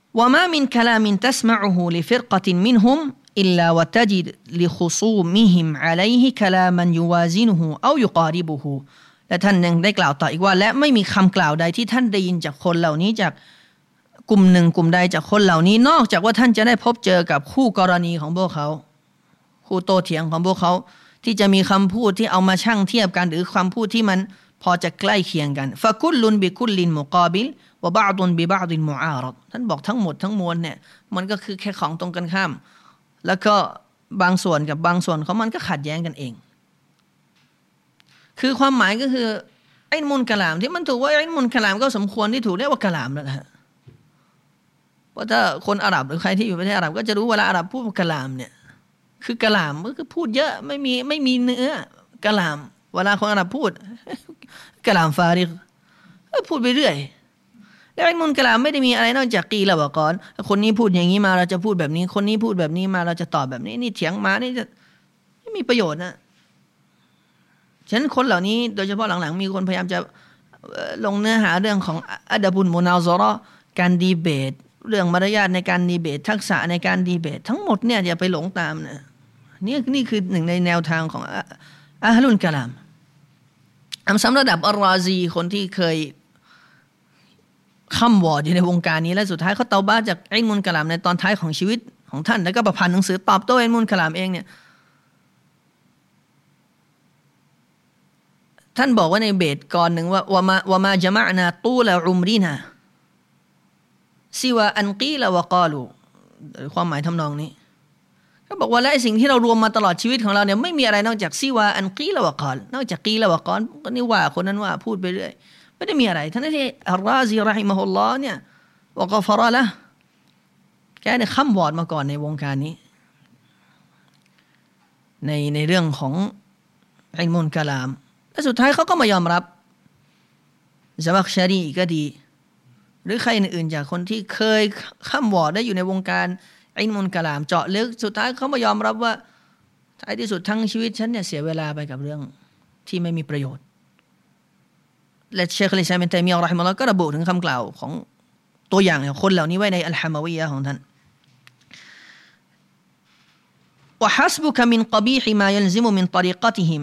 وما من كلام تسمعه لفرقة منهم إلا وتجد لخصومهم عليه كلاما يوازنه أو يقاربه และท่านยังได้กล่าวต่ออีกว่าและไม่มีคำกล่าวใดที่ท่านได้ยินจากคนเหล่านี้จากกลุ่มหนึ่งกลุ่มใดจากคนเหล่านี้นอกจากว่าท่านจะได้พบเจอกับคู่กรณีของพวกเขาคู่โต้เถียงของพวกเขาที่จะมีคำพูดที่เอามาชั่งเทียบกันหรือคำพูดที่มันพอจะใกล้เคียงกันฟะกุลลุนบิกุลลินมุกาบิลวะบะอ์ดุนบิบะอ์ดินมุอารัดท่านบอกทั้งหมดทั้งมวลเนี่ยมันก็คือแค่ของตรงกันข้ามแล้วก็บางส่วนกับบางส่วนของมันก็ขัดแย้งกันเองคือความหมายก็คือไอ้มุนกะลามที่มันถูกว่าไอ้มุนกะลามก็สมควรที่ถูกเรียกว่ากะลามแล้วนะฮะเพราะถ้าคนอาหรับหรือใครที่อยู่ประเทศอาหรับก็จะรู้เวลาอาหรับพูดกะลามเนี่ยคือกะลามก็คือพูดเยอะไม่มีเนื้อกะลามเวลาคนอาหรับพูดกะลามฟาริกพูดไปเรื่อยแล้วไอ้มุนกะลามไม่ได้มีอะไรนอกจากกีละวะกอนคนนี้พูดอย่างนี้มาเราจะพูดแบบนี้คนนี้พูดแบบนี้มาเราจะตอบแบบนี้นี่เถียงมานี่จะไม่มีประโยชน์นะฉะนั้นคนเหล่านี้โดยเฉพาะหลังๆมีคนพยายามจะลงเนื้อหาเรื่องของอัดบุลมุนาซอเราะห์การดีเบตเรื่องมารยาทในการดีเบตทักษะในการดีเบตทั้งหมดเนี่ยอย่าไปหลงตามนะนี่คือหนึ่งในแนวทางของอะฮ์ลุลกะลามสำหรับระดับอัลราซีคนที่เคยค่ำวอดอยู่ในวงการนี้และสุดท้ายเขาเตาบ้าจากอิลมุลกะลามในตอนท้ายของชีวิตของท่านแล้วก็ประพันธ์หนังสือตอบโต้อิลมุลกะลามเองเนี่ยท่านบอกว่าในเบตก่อนหนึ่งว่ามจะมะนาตูละอุมรีนาซิวาอันกีละวะกาลูความหมายทำนองนี้ก็บอกว่าและสิ่งที่เรารวมมาตลอดชีวิตของเราเนี่ยไม่มีอะไรนอกจากซิวาอันกีละวะกาลนอกจากกีละวะกาลก็นี่ว่าคนนั้นว่าพูดไปเรื่อยไม่ได้มีอะไรท่านที่อัลราซีเราะฮิมะฮุลลอฮ์เนี่ยวะกอฟะรอละแกเนี่ยค้ำวอดมาก่อนในวงการนี้ในเรื่องของอิลมุลกะลามและสุดท้ายเขาก็มายอมรับซะมักชารีก็ดีหรือใครอื่นๆจากคนที่เคยค้ำวอดได้อยู่ในวงการอิลมุลกะลามเจาะลึกสุดท้ายเขามายอมรับว่าท้ายที่สุดทั้งชีวิตฉันเนี่ยเสียเวลาไปกับเรื่องที่ไม่มีประโยชน์และเชคอิสลามอิบนุตัยมียะห์เราะฮิมะฮุลลอฮ์ก็ระบุถึงคำกล่าวของตัวอย่างของคนเหล่านี้ไว้ในอัลฮะมะวียะห์ของท่านวะฮัสบุกะมินกะบีฮิมายัลซิมุมินฏอรีกะติฮิม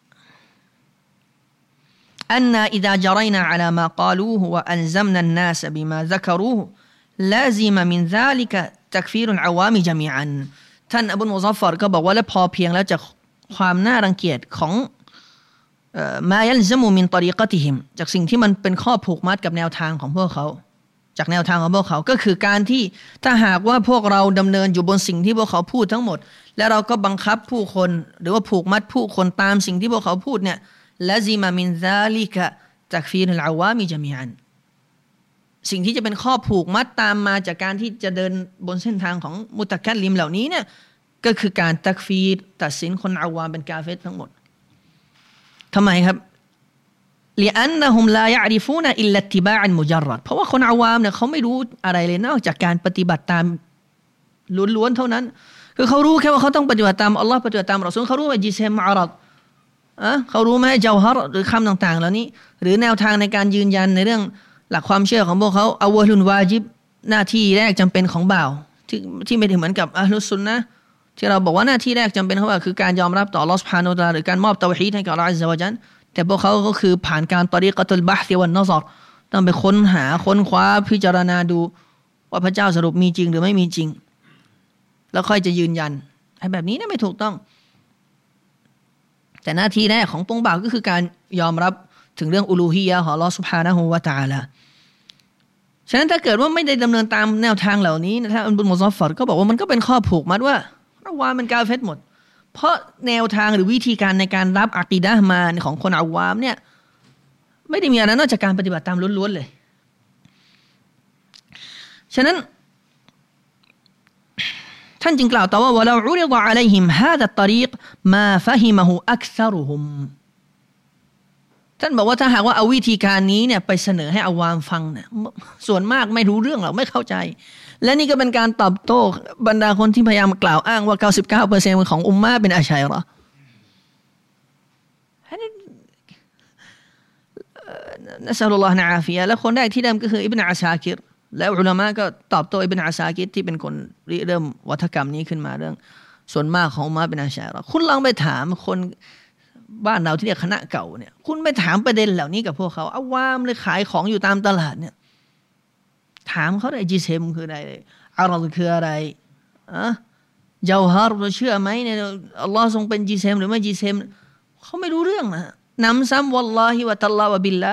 أننا إذا جرينا على ما قالوه وألزمنا الناس بما ذكروه لازم من ذلك تكفير العوام جميعا ท่านอบูลมุซัฟฟัรก็บอกว่าและพอเพียงแล้วจากความน่ารังเกียจของมายัลซะมูมินฏอรีกะติฮิมจากสิ่งที่มันเป็นข้อผูกมัดกับแนวทางของพวกเขาจากแนวทางของพวกเขาก็คือการที่ถ้าหากว่าพวกเราดำเนินอยู่บนสิ่งที่พวกเขาพูดทั้งหมดและเราก็บังคับผู้คนหรือว่าผูกมัดผู้คนตามสิ่งที่พวกเขาพูดเนี่ยละซิมามินซาลิกะตักฟีรุลอาวามิญะมีอันสิ่งที่จะเป็นข้อผูกมัดตามมาจากการที่จะเดินบนเส้นทางของมุตะกัลลิมเหล่านี้เนี่ยก็คือการตักฟีรตัดสินคนอาวามเป็นกาเฟรทั้งหมดทำไมครับلأنهم لا يعرفون إلا اتباع مجرد เพราะว่าคนอาวามเนี่ยเขาไม่รู้อะไรเลยนอกจากการปฏิบัติตามล้วนๆเท่านั้นคือเขารู้แค่ว่าเขาต้องปฏิบัติตามอัลลอฮ์ปฏิบัติตามรอซูลเขารู้ว่าจิซมอารัดเขารู้ไหมเจ้าฮาร์หรือคำต่างๆเหล่านี้หรือแนวทางในการยืนยันในเรื่องหลักความเชื่อของพวกเขาอาวะลุนวาญิบหน้าที่แรกจำเป็นของบ่าวที่ไม่ได้เหมือนกับอะห์ลุสซุนนะห์ที่เราบอกว่าหน้าที่แรกจำเป็นของบ่าวคือการยอมรับต่ออัลเลาะห์ซุบฮานะฮูวะตะอาลาหรือการมอบเตาฮีดให้กับอัลเลาะห์อัซซะวะญัลแต่พวกเขาก็คือผ่านการตอรีกะตุลบะห์วันัซรต้องไปค้นหาค้นคว้าพิจารณาดูว่าพระเจ้าสรุปมีจริงหรือไม่มีจริงแล้วค่อยจะยืนยันไอ้แบบนี้เนี่ยไม่ถูกต้องแต่หน้าที่แรกของปวงบ่าวก็คือการยอมรับถึงเรื่องอูลูฮียะห์ของอัลเลาะห์ซุบฮานะฮูวะตะอาลาฉะนั้นถ้าเกิดว่าไม่ได้ดำเนินตามแนวทางเหล่านี้นะท่านอับดุลมุซัฟฟัรก็บอกว่ามันก็เป็นข้อผูกมัดว่าเราว่ามันกาเฟรหมดเพราะแนวทางหรือวิธีการในการรับอะกีดะห์มาของคนอาวามเนี่ยไม่ได้มีอะไรนอกจากการปฏิบัติตามล้วนๆเลยฉะนั้นท่านจึงกล่าวต่อว่าวะลาอุริฎะอะลัยฮิมฮาซาตรีกมาฟะฮิมะฮูอักซะรุฮุมท่านบอกว่าถ้าหากว่าเอาวิธีการนี้เนี่ยไปเสนอให้อาวามฟังเนี่ยส่วนมากไม่รู้เรื่องหรอกไม่เข้าใจและนี่ก็เป็นการตอบโต้บรรดาคนที่พยายามกล่าวอ้างว่า 99% ของอุมมะห์เป็นอัชอะเราะห์นะซะลุลลอฮ์นะอาฟิยะห์และคนแรกที่ได้ก็คืออิบนุอาซาคิรแล้วอุลามะก็ตอบโต้อิบนุอาซากิรที่เป็นคนริเริ่มวัฒกรรมนี้ขึ้นมาเรื่องส่วนมากของอุมมะเป็นอาชัยเราคุณลองไปถามคนบ้านเราที่เรียกคณะเก่าเนี่ยคุณไปถามประเด็นเหล่านี้กับพวกเขาเอาว่ามเลยขายของอยู่ตามตลาดเนี่ยถามเขาได้จิเซมคืออะไรอารอคืออะไรเจ้าฮาร์เราเชื่อไหมเนี่ยอัลลอฮ์ทรงเป็นจิเซมหรือไม่จิเซมเขาไม่รู้เรื่องนะนำซ้ำวัลลอฮิวะตัลลาฮ์วะบิลละ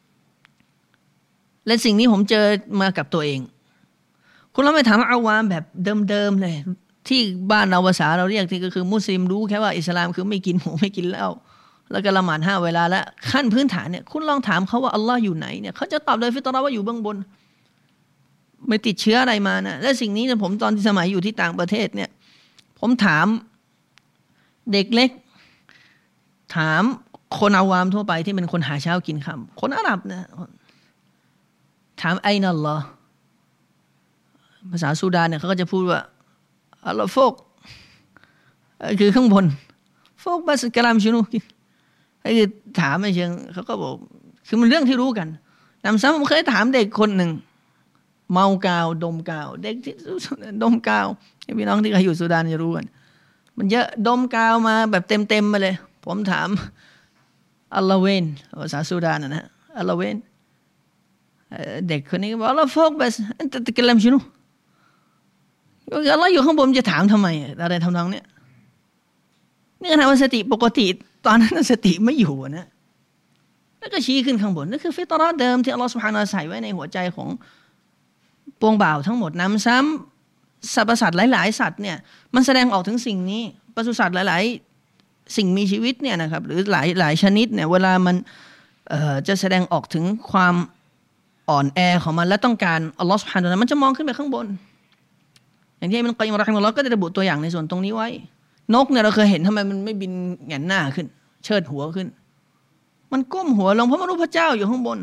และสิ่งนี้ผมเจอมากับตัวเองคุณเราไม่ถามอาวามแบบเดิมๆเลยที่บ้านเราภาษาเราเรียกที่ก็คือมุสลิมรู้แค่ว่าอิสลามคือไม่กินหมูไม่กินเหล้าแล้วก็ละหมาด5 เวลาแล้วขั้นพื้นฐานเนี่ยคุณลองถามเขาว่าอัลลอฮ์อยู่ไหนเนี่ยเขาจะตอบโดยฟิตเราะห์ว่าอยู่เบื้องบนไม่ติดเชื้ออะไรมานะและสิ่งนี้เนี่ยผมตอนที่สมัยอยู่ที่ต่างประเทศเนี่ยผมถามเด็กเล็กถามคนอาวามทั่วไปที่เป็นคนหาเช้ากินค่ำคนอาหรับนะถามไอ้นั่นเหรอภาษาซูดานเนี่ยเขาก็จะพูดว่าอัลลอฮ์โฟกคือข้างบนโฟกบัสกะลามชุนุไอ้คือถามไม่เชิงเขาก็บอกคือมันเรื่องที่รู้กันนำซ้ำผมเคยถามเด็กคนหนึ่งเมากาวดมกาวเด็กที่ดมกาวพี่น้องที่เคยอยู่ซูดานจะรู้กันมันเยอะดมกาวมาแบบเต็มมาเลยผมถามอัลลอฮ์เวนภาษาซูดานนะอัลลอฮ์เวนเด็กคนนี้บอกอัลลอฮ์โฟกบัสอันตะตะกะลามชุนุอัลลอฮ์อยู่ข้างบนจะถามทำไมอะไรทำนองเนี้ยนี่ขณะว่าสติปกติตอนนั้นสติไม่อยู่นะแล้วก็ชี้ขึ้นข้างบนนั่นคือฟิตเราะห์เดิมที่อัลลอฮ์ซุบฮานะฮูวะตะอาลาใส่ไว้ในหัวใจของปวงบ่าวทั้งหมดนำซ้ำสรรพสัตว์หลายๆสัตว์เนี่ยมันแสดงออกถึงสิ่งนี้ปศุสัตว์หลายๆสิ่งมีชีวิตเนี่ยนะครับหรือหลายชนิดเนี่ยเวลามันจะแสดงออกถึงความอ่อนแอของมันและต้องการอัลลอฮ์ซุบฮานะฮูวะตะอาลามันจะมองขึ้นไปข้างบนอย่างที่อิบนุกัยยิมเราะฮิมะฮุลลอฮ์ก็ได้ระบุตัวอย่างในส่วนตรงนี้ไว้นกเนี่ยเราเคยเห็นทำไมมันไม่บินแหงนหน้าขึ้นเชิดหัวขึ้นมันก้มหัวลงเพราะมันรู้พระเจ้าอยู่ข้างบน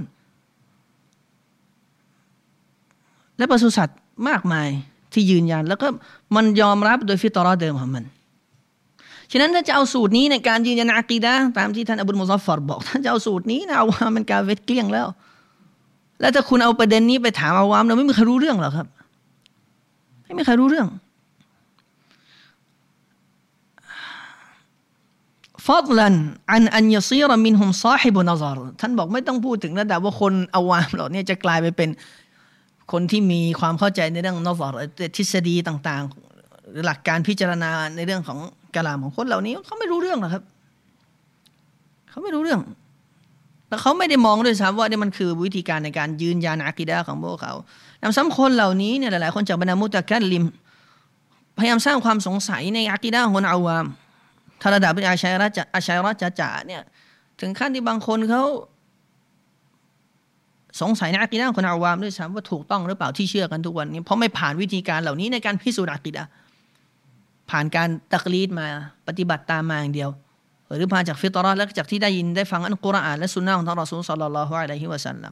และปศุสัตว์มากมายที่ยืนยันแล้วก็มันยอมรับโดยฟิตเราะห์เดิมของมันฉะนั้นถ้าจะเอาสูตรนี้ในการยืนยันอะกีดะห์ตามที่ท่านอบูลมุซัฟฟัรบอกถ้าจะเอาสูตรนี้นะเอาว่ามันกาเฟรเกลี้ยงแล้วถ้าคุณเอาประเด็นนี้ไปถามอาวามเราไม่มีใครรู้เรื่องหรอกครับไม่มีใครรู้เรื่องฟัดลันอันยซีรมินฮุมซอฮิบุนซารท่านบอกไม่ต้องพูดถึงระดับว่าคนอาวามเหล่านี้จะกลายไปเป็นคนที่มีความเข้าใจในเรื่องนซารทฤษฎีต่างๆหรือหลักการพิจารณาในเรื่องของกะลามของคนเหล่านี้เขาไม่รู้เรื่องหรอกครับเขาไม่รู้เรื่องแล้วเขาไม่ได้มองด้วยซ้ำว่านี่มันคือวิธีการในการยืนยันอะกีดะห์ของพวกเขานำซ้ำคนเหล่านี้เนี่ยหลายๆคนจากบรรดามุตะกัลลิมพยายามสร้างความสงสัยในอะกีดะห์ของคนอาวามถ้าระดับเป็นอาชัยเราะห์จ๋าเนี่ยถึงขั้นที่บางคนเขาสงสัยในอะกีดะห์ของคนอาวามด้วยซ้ำว่าถูกต้องหรือเปล่าที่เชื่อกันทุกวันนี้เพราะไม่ผ่านวิธีการเหล่านี้ในการพิสูจน์อะกีดะห์ผ่านการตักลีดมาปฏิบัติตามมาอย่างเดียวหรือผ่านจากฟิตเราะห์และจากที่ได้ยินได้ฟังอัลกุรอานและซุนนะห์ของท่านรอซูลศ็อลลัลลอฮุอะลัยฮิวะซัลลัม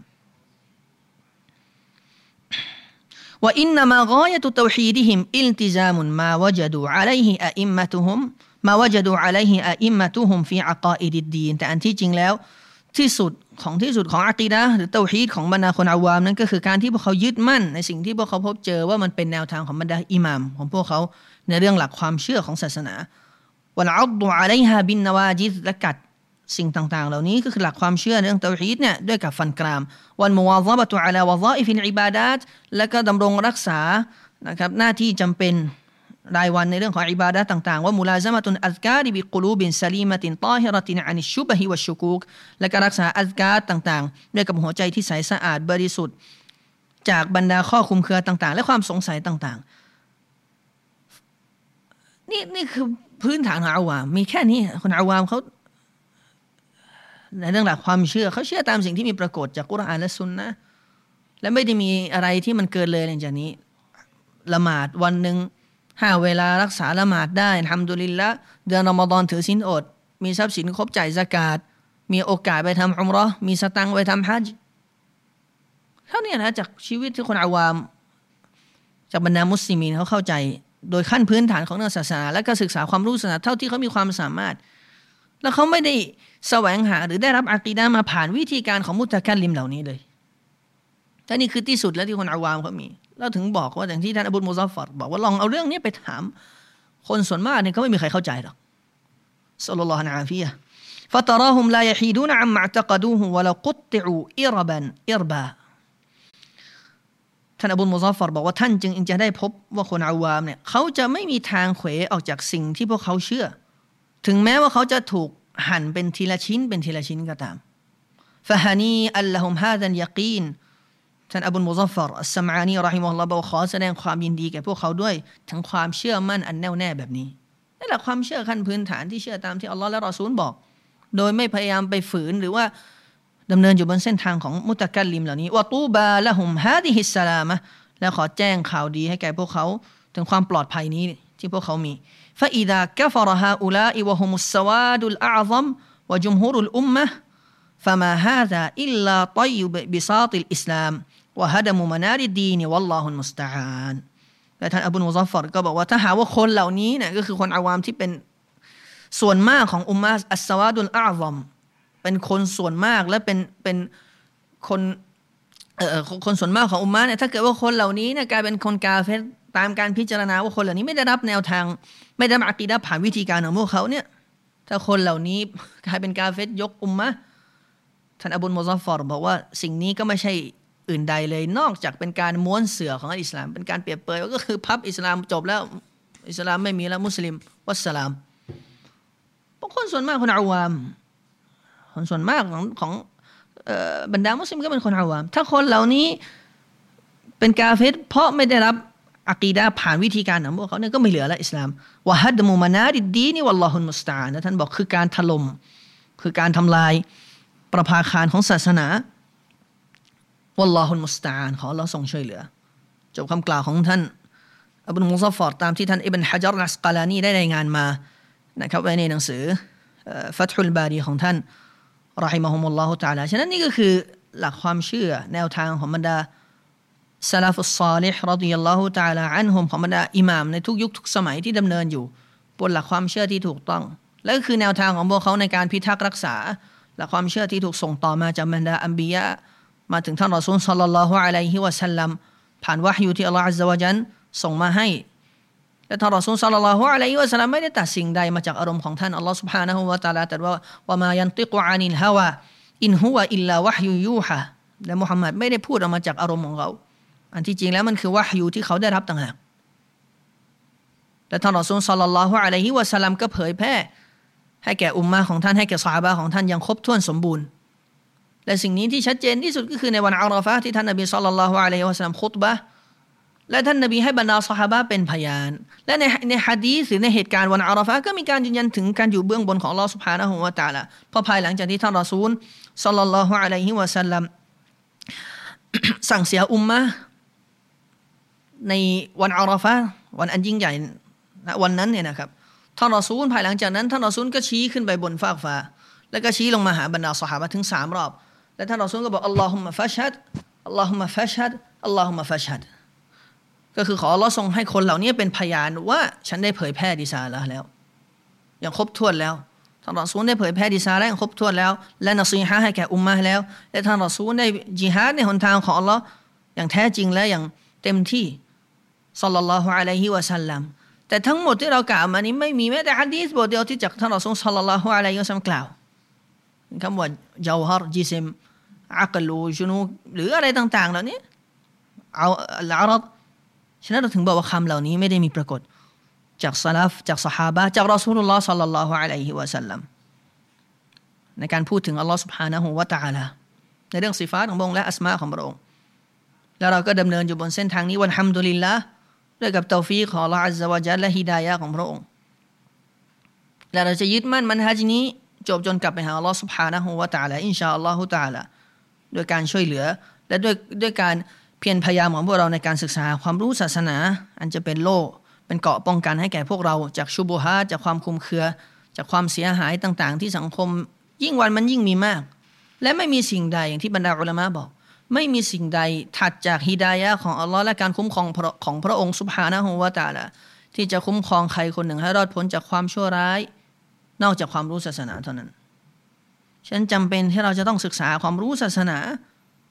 ว่าอินนามะฆายะตุเตาฮีดิฮิมอิลติซามุนมาวะญะดูอะลัยฮิอะอิมมะตุฮุมมาวะญะดูอะลัยฮิอะอิมมะตุฮุมฟีอะกออิดิดดีนแต่อันที่จริงแล้วที่สุดของอะกีดะห์หรือเตาฮีดของบรรดาคนอาวามนั้นก็คือการที่พวกเขายึดมั่นในสิ่งที่พวกเขาพบเจอว่ามันเป็นแนวทางของบรรดาอิหม่ามของพวกเขาในเรื่องหลักความเชื่อของศาสนาวัลอัฎอะลัยฮาบินนวาจิซและกัดสิ่งต่างๆเหล่านี้ก็คือหลักความเชื่อในเรื่องเตาฮีดเนี่ยด้วยกับฟันกรามวัลมุวาซะบะตุอะลาวะฎออิฟิลอิบาดาตและก็ดำรงรักษานะครับหน้าที่จำเป็นรายวันในเรื่องของอิบาดะห์ต่างๆว่ามุลาซะมะตุนอัซการิบิกุลูบินซะลีมะตินฏอฮิเราะตินอานิชชุบะฮิวัชชุกูกและก็รักษาอัซการต่างๆด้วยกับหัวใจที่ใสสะอาดบริสุทธิ์จากบรรดาข้อคลุมเครือต่างๆและความสงสัยต่างๆนี่คือพื้นฐานของอาวามมีแค่นี้คนอาวามเขาในเรื่องหลักความเชื่อเขาเชื่อตามสิ่งที่มีปรากฏจากกุรอานและซุนนะห์และไม่ได้มีอะไรที่มันเกินเลยหลังจากนี้ละหมาดวันนึง5 เวลารักษาละหมาดได้อัลฮัมดุลิลละห์เดือนรอมฎอนถือศีลอดมีทรัพย์สินครบจ่ายซะกาตมีโอกาสไปทำอุมเราะห์มีสตังค์ไปทำฮัจญ์เท่านี้นะจากชีวิตที่คนอาวามจากบรรดามุสลิมีนเขาเข้าใจโดยขั้นพื้นฐานของเรื่องศาสนาและก็ศึกษาความรู้ศาสนาเท่าที่เขามีความสามารถแล้วเขาไม่ได้แสวงหาหรือได้รับอะกีดะห์มาผ่านวิธีการของมุตะกัลลิมเหล่านี้เลยแต่นี่คือที่สุดแล้วที่คนอาวามเขามีเราถึงบอกว่าอย่างที่ท่านอบูมุซัฟฟัรบอกว่าลองเอาเรื่องนี้ไปถามคนส่วนมากเนี่ยเขาไม่มีใครเข้าใจหรอกศ็อลลัลลอฮุอะลัยฮิวะซัลลัมفَتَرَاهُمْ لَا يَحِيدُونَ عَمَّا اعْتَقَدُوهُ وَلَوْ قُطِّعُوا إِرَبًا إِرْبًا ท่านอบูมุซัฟฟัรบอกว่าท่านจึงจะได้พบว่าคนอาวามเนี่ยเขาจะไม่มีทางเขวออกจากสิ่งที่พวกเขาเชื่อถึงแม้ว่าเขาจะถูกหั่นเป็นทีละชิ้นเป็นทีละชิ้นก็ตามفهنيئا لهم هذا اليقين ท่านอบูมุซัฟฟัรอัสซะมอานีเราะฮิมะฮุลลอฮ์บอกขอแสดงความยินดีแก่พวกเขาด้วยถึงความเชื่อมั่นอันแน่วแน่แบบนี้นี่แหละความเชื่อขั้นพื้นฐานที่เชื่อตามที่อัลลอฮ์และรอซูลบอกโดยไม่พยายามไปฝืนหรือว่าดำเนินอยู่บนเส้นทางของมุตะกัลลิมเหล่านี้วะตูบาละฮุมฮาดิฮิสสลามะและขอแจ้งข่าวดีให้แก่พวกเขาถึงความปลอดภัยนี้ที่พวกเขามีفإذا كفر هؤلاء وهم السواد الأعظم وجمهور الأمة فما هذا إلا طي بساط الإسلام وهدم منار الدين والله المستعان และท่านอบูมุซัฟฟัรก็บอกว่าถ้าหาว่าคนเหล่านี้เนี่ยก็คือคนอาวามที่เป็นส่วนมากของอุมมะฮ์อัสซาวาดุลอาซอมเป็นคนส่วนมากและเป็นคนส่วนมากของอุมมะฮ์เนี่ยถ้าเกิดว่าคนเหล่านี้เนี่ยกลายเป็นคนกาเฟรตามการพิจารณาว่าคนเหล่านี้ไม่ได้รับแนวทางไม่ได้รับอะกีดะห์ผ่านวิธีการของพวกเขาเนี่ยถ้าคนเหล่านี้กลายเป็นกาเฟรยกอุมมะฮ์ท่านอบูมุซัฟฟัรบอกว่าสิ่งนี้ก็ไม่ใช่อื่นใดเลยนอกจากเป็นการม้วนเสื่อของอิสลามเป็นการเปรียบเปรยก็คือพับอิสลามจบแล้วอิสลามไม่มีแล้วมุสลิมวัสสลามคนส่วนมากคนอาวามคนส่วนมากของบรรดามุสลิมก็เป็นคนอาวามถ้าคนเหล่านี้เป็นกาเฟรเพราะไม่ได้รับอะกีดะห์ผ่านวิธีการของพวกเขาเนี่ยก็ไม่เหลือแล้วอิสลามวะฮัดมุมานาดิดดีนวัลลอฮุลมุสตะอานะท่านบอกคือการถล่มคือการทำลายประภาคารของศาสนาวัลลอฮุลมุสตะอาขออัลเลาะห์ทรงช่วยเหลือจบคำกล่าวของท่านอบูมุซัฟฟัรตามที่ท่านอิบนุฮะญัรอัสกะลานีได้รายงานมานะครับไว้ในหนังสือฟัตฮุลบารีของท่านเราะฮิมะฮุมุลลอฮุตะอาลาฉะนั้นนี่ก็คือหลักความเชื่อแนวทางของบรรดาซะลาฟุสศอลิฮ์รอฎิยัลลอฮุตะอาลาอันฮุมของบรรดาอิหม่ามในทุกยุคทุกสมัยที่ดำเนินอยู่บนหลักความเชื่อที่ถูกต้องและก็คือแนวทางของพวกเขาในการพิทักษ์รักษาหลักความเชื่อที่ถูกส่งต่อมาจากบรรดาอัมบิยะมาถึงท่านรอซูลศ็อลลัลลอฮุอะลัยฮิวะซัลลัมผ่านวะฮยูที่อัลเลาะห์อัซซะวะญัลส่งมาให้และท่านรอซูลศ็อลลัลลอฮุอะลัยฮิวะซัลลัมไม่ได้ตัดสิ่งใดมาจากอารมณ์ของท่านอัลเลาะห์ซุบฮานะฮูวะตะอาลาตรัสว่าวะมายันติกุอานิลฮาวาอินฮุวะอิลลาวะฮยูยูฮะและมุฮัมมัดไม่ได้พูดออกมาจากอารมณ์ของเขาอันที่จริงแล้วมันคือวะฮยูที่เขาได้รับต่างหากและท่านรอซูลศ็อลลัลลอฮุอะลัยฮิวะซัลลัมก็เผยแพร่ให้แก่อุมมะฮ์ของท่านให้แก่ซอฮาบะห์ของท่านอย่างครบถ้วนสมบูรณ์และสิ่งนี้ที่ชัดเจนที่สุดก็คือในวันอาราฟะห์ที่ท่านนบีศ็อลลัลลอฮุอะลัยฮิวะซัลลัมคุตบะห์และท่านนบีให้บรรดาซอฮาบะห์เป็นพยานและในหะดีษหรือในเหตุการณ์วันอาราฟะห์ก็มีการยืนยันถึงการอยู่เบื้องบนของอัลเลาะห์ซุบฮานะฮูวะตะอาลาพอภายหลังจากที่ท่านรอซูลศ็อลลัลลอฮุอะลัยฮิวะซัลลัมสั่งเสียอุมมะฮ์ในวันอาราฟะห์วันอันยิ่งใหญ่วันนั้นเนี่ยนะครับท่านรอซูลภายหลังจากนั้นท่านรอซูลก็ชี้ขึ้นไปบนฟากฟ้าแล้วก็ชี้ลงมาหาบรรดาซอฮาบะห์ถึง3รอบและท่านรอซูลก็บอกอัลลอฮุมมะฟัชฮัดอัลลอฮุมมะฟัชฮัดอัลลอฮุมมะฟัชฮัดก็คือขออัลเลาะห์ทรงให้คนเหล่านี้เป็นพยานว่าฉันได้เผยแพร่ริซาละห์แล้วอย่างครบถ้วนแล้วท่านรอซูลได้เผยแพร่ริซาละห์อย่างครบถ้วนแล้วและนอซีฮะห์ให้แก่อุมมะฮ์แล้วและท่านรอซูลได้ญิฮาดในหนทางของอัลเลาะห์อย่างแท้จริงและอย่างเต็มที่ศ็อลลัลลอฮุอะลัยฮิวะซัลลัมแต่ทั้งหมดที่เรากล่าวมานี้ไม่มีแม้แต่หะดีษบทเดียวที่จากท่านรอซูลศ็อลลัลลอฮุอะลัยฮิวะซัลลัมกล่าวคำว่าญาวฮรจิซิมอักลูจุนูหรืออะไรต่างๆเหล่านี้เอาอัลอารัดฉะนั้นเราถึงบอกว่าคำเหล่านี้ไม่ได้มีปรากฏจากซะลัฟจากซอฮาบะห์จากรอซูลุลลอฮ์ศ็อลลัลลอฮุอะลัยฮิวะซัลลัมในการพูดถึงอัลเลาะห์ซุบฮานะฮูวะตะอาลาในเรื่องสิฟาตของพระองค์และอัสมาของพระองค์แล้วเราก็ดำเนินอยู่บนเส้นทางนี้วัลฮัมดุลิลลาห์ด้วยกับตอฟีกของอัลเลาะห์อัซซะวะญัลและฮิดายะห์ของพระองค์และเราจะยึดมั่นมันฮะจนี้จบจนกลับไปหาอัลเลาะห์ซุบฮานะฮูวะตะอาลาอินชาอัลลอฮุตะอาลาด้วยการช่วยเหลือและด้วยการเพียรพยายามของพวกเราในการศึกษาความรู้ศาสนาอันจะเป็นโล่เป็นเกราะป้องกันให้แก่พวกเราจากชุบุฮาตจากความคลุมเครือจากความเสียหายต่างๆที่สังคมยิ่งวันมันยิ่งมีมากและไม่มีสิ่งใดอย่างที่บรรดาอุลามะบอกไม่มีสิ่งใดถัดจากฮิดายะห์ของอัลเลาะห์และการคุ้มครองของพระองค์ซุบฮานะฮูวะตะอาลาที่จะคุ้มครองใครคนหนึ่งให้รอดพ้นจากความชั่วร้ายนอกจากความรู้ศาสนาเท่านั้นฉะนั้นจำเป็นที่เราจะต้องศึกษาความรู้ศาสนา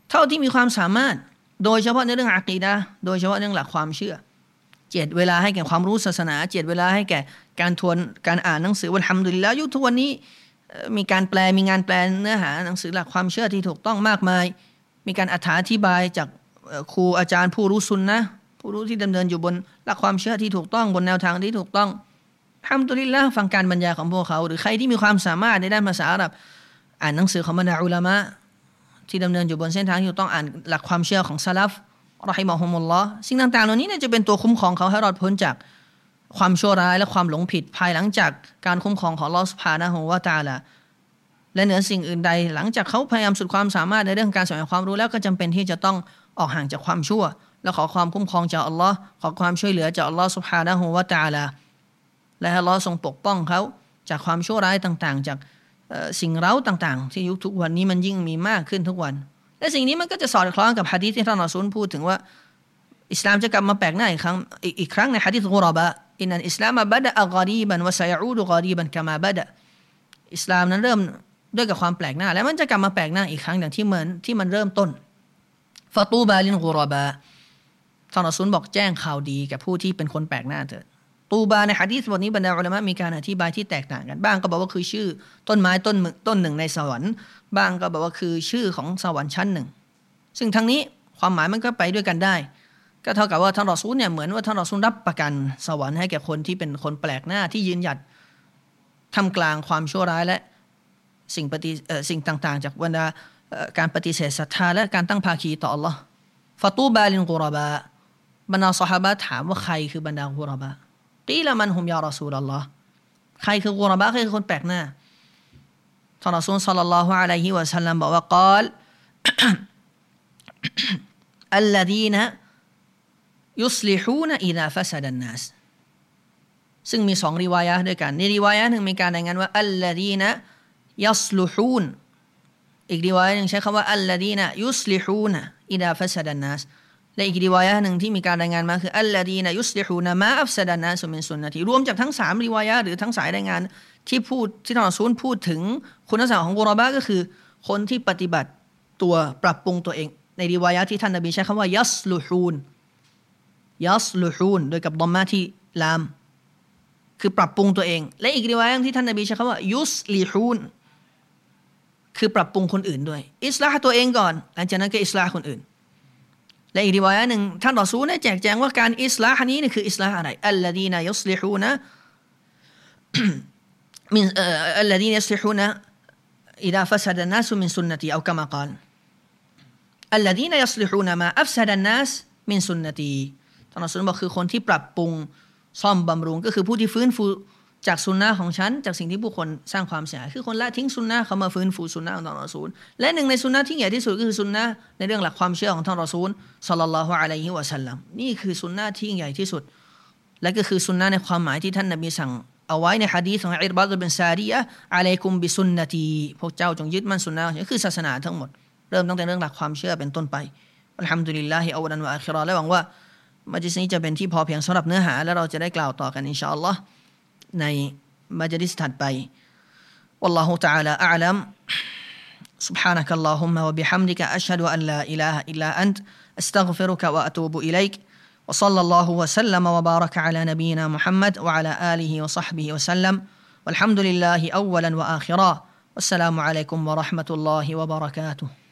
เท่าที่มีความสามารถโดยเฉพาะในเรื่องอะกีดะห์โดยเฉพาะเรื่องหลักความเชื่อเจ็ดเวลาให้แก่ความรู้ศาสนาเจ็ดเวลาให้แก่การทวนการอ่านหนังสือวัลฮัมดุลิลลาห์ยุคทุกวันนี้มีการแปลมีงานแปลเนื้อหาหนังสือหลักความเชื่อที่ถูกต้องมากมายมีการอธิบายจากครูอาจารย์ผู้รู้ซุนนะห์ผู้รู้ที่ดำเนินอยู่บนหลักความเชื่อที่ถูกต้องบนแนวทางที่ถูกต้องอัลฮัมดุลิลลาห์ฟังการบรรยายของพวกเขาหรือใครที่มีความสามารถในด้านภาษาอาหรับอ่านหนังสือของบรรดาอุลามะที่ดำเนินอยู่บนเส้นทางที่ถูกต้องอ่านหลักความเชื่อของซะลัฟเราะฮิมะฮุมุลลอฮ์สิ่งต่างๆเหล่านี้จะเป็นตัวคุ้มครองเขาให้รอดพ้นจากความชั่วร้ายและความหลงผิดภายหลังจากการคุ้มครองของอัลเลาะห์ซุบฮานะฮูวะตะอาลาและเหนือสิ่งอื่นใดหลังจากเขาพยายามสุดความสามารถในเรื่องการแสวงความรู้แล้วก็จำเป็นที่จะต้องออกห่างจากความชั่วและขอความคุ้มครองจากอัลเลาะห์ขอความช่วยเหลือจากอัลเลาะห์ซุบฮานะฮูวะตะอาลาและให้อัลเลาะห์ทรงปกป้องเขาจากความชั่วร้ายต่างๆจากสิ่งเร้าต่างๆที่ยุคทุกวันนี้มันยิ่งมีมากขึ้นทุกวันและสิ่งนี้มันก็จะสอดคล้องกับหะดีษที่ท่านรอซูลพูดถึงว่าอิสลามจะกลับมาแปลกหน้าอีกครั้งในหะดีษกุรบะอินนัลอิสลามบะดะอะกอรีบันวะซะยะอูดุกอรีบันกะมาบะดะอิสลามนั้นเริ่มด้วยกับความแปลกหน้าและมันจะกลับมาแปลกหน้าอีกครั้งอย่างที่มันเริ่มต้นฟะตูบาลินกุรบะท่านรอซูลบอกแจ้งข่าวดีแก่ผู้ที่เป็นคนแปลกหน้าเถิดตูบาในหะดีษบทนี้บรรดาอุลามะมีการอธิบายที่แตกต่างกันบ้างก็บอกว่าคือชื่อต้นไม้ต้นหนึ่งในสวรรค์บ้างก็บอกว่าคือชื่อของสวรรค์ชั้นหนึ่งซึ่งทั้งนี้ความหมายมันก็ไปด้วยกันได้ก็เท่ากับว่าท่านรอซูลเนี่ยเหมือนว่าท่านรอซูลรับประกันสวรรค์ให้แก่คนที่เป็นคนแปลกหน้าที่ยืนหยัดท่ามกลางความชั่วร้ายและสิ่งต่างๆจากบรรดาการปฏิเสธศรัทธาและการตั้งภาคีต่ออัลลอฮ์ฟะตูบาลินกุรบะบรรดาซอฮาบะห์ถามว่าใครคือบรรดากุรบะกีละมันฮุมยารอซูลัลลอฮ์ใครคือกุรบะใครคือคนแปลกหน้าท่านรอซูลศ็อลลัลลอฮุอะลัยฮิวะซัลลัมบอกว่ากาล อัลลดีนะยุสลิฮูนอิซาฟะซะดันนัสซึ่งมี2ริวายะห์ด้วยกันในริวายะห์นึงมีการรายงานว่าอัลลดีนะยัสลุฮูนอีกริวายะห์นึงใช้คำว่าอัลลดีนะยุสลิฮูนอิซาฟะซะดันนัสและอีกริวายะห์นึงที่มีการรายงานมาคืออัลลดีนะยุสลิฮูนมาอัฟซะดันนัสมินซุนนะติรวมจากทั้ง3ริวายะห์หรือทั้งสายรายงานที่ท่านรอซูลพูดถึงคุณลักษณะของกุรบะก็คือคนที่ปฏิบัติตัวปรับปรุงตัวเองในริวายะห์ที่ท่านนบีใช้คำว่ายัสลุฮูนโดยกับดอมมาที่ลามคือปรับปรุงตัวเองและอีกริวายะห์ที่ท่านนบีใช้คำว่ายุสลิฮูนคือปรับปรุงคนอื่นด้วยอิสลาห์ตัวเองก่อนหลังจากนั้นก็อิสลาห์คนอื่นและอีกริวายะห์นึงท่านรอซูลได้แจกแจงว่าการอิสลาห์นี้นี่คืออิสลาห์อะไรอัลลดีนะยุสลิฮูนะمن الذين يصلحون إذا فسد الناس من سنتي أو كما قال الذين يصلحون ما أفسد الناس من سنتي ท่านรอซูลบอกคือคนที่ปรับปรุงซ่อมบำรุงก็คือผู้ที่ฟื้นฟูจากสุนนะของฉันจากสิ่งที่ผู้คนสร้างความเสียหายคือคนละทิ้งสุนนะเขามาฟื้นฟูสุนนะของท่านรอซูลและหนึ่งในสุนนะที่ใหญ่ที่สุดก็คือสุนนะในเรื่องหลักความเชื่อของท่านรอซูลศ็อลลัลลอฮุอะลัยฮิวะซัลลัมนี่คือสุนนะที่ใหญ่ที่สุดและก็คือสุนนะในความหมายที่ท่านนบีสั่งเอาไว้ในหะดีษของอิรบาดบินซาริยะห์อะลัยกุมบิสุนนะตีพวกเจ้าจงยึดมั่นสุนนะนี่คือศาสนาทั้งหมดเริ่มตั้งแต่เรื่องหลักความเชื่อเป็นต้นไปอัลฮัมดุลิลลาฮิอัวลันวะอาคิเราะห์และหวังว่ามัจลิสนี้จะเป็นที่พอเพียงสำหรับเนื้อหาและเราจะได้กล่าวต่อกันอินชาอัลลอฮ์ในมัจลิสถัดไปวัลลอฮุตะอาลาอะอ์ลัม سبحانك اللهم وبحمدك أشهد أن لا إله إلا أنت أستغفرك وأتوب إليك وصلى الله وسلم وبارك على نبينا محمد وعلى آله وصحبه وسلم والحمد لله أولا وآخرا والسلام عليكم ورحمة الله وبركاته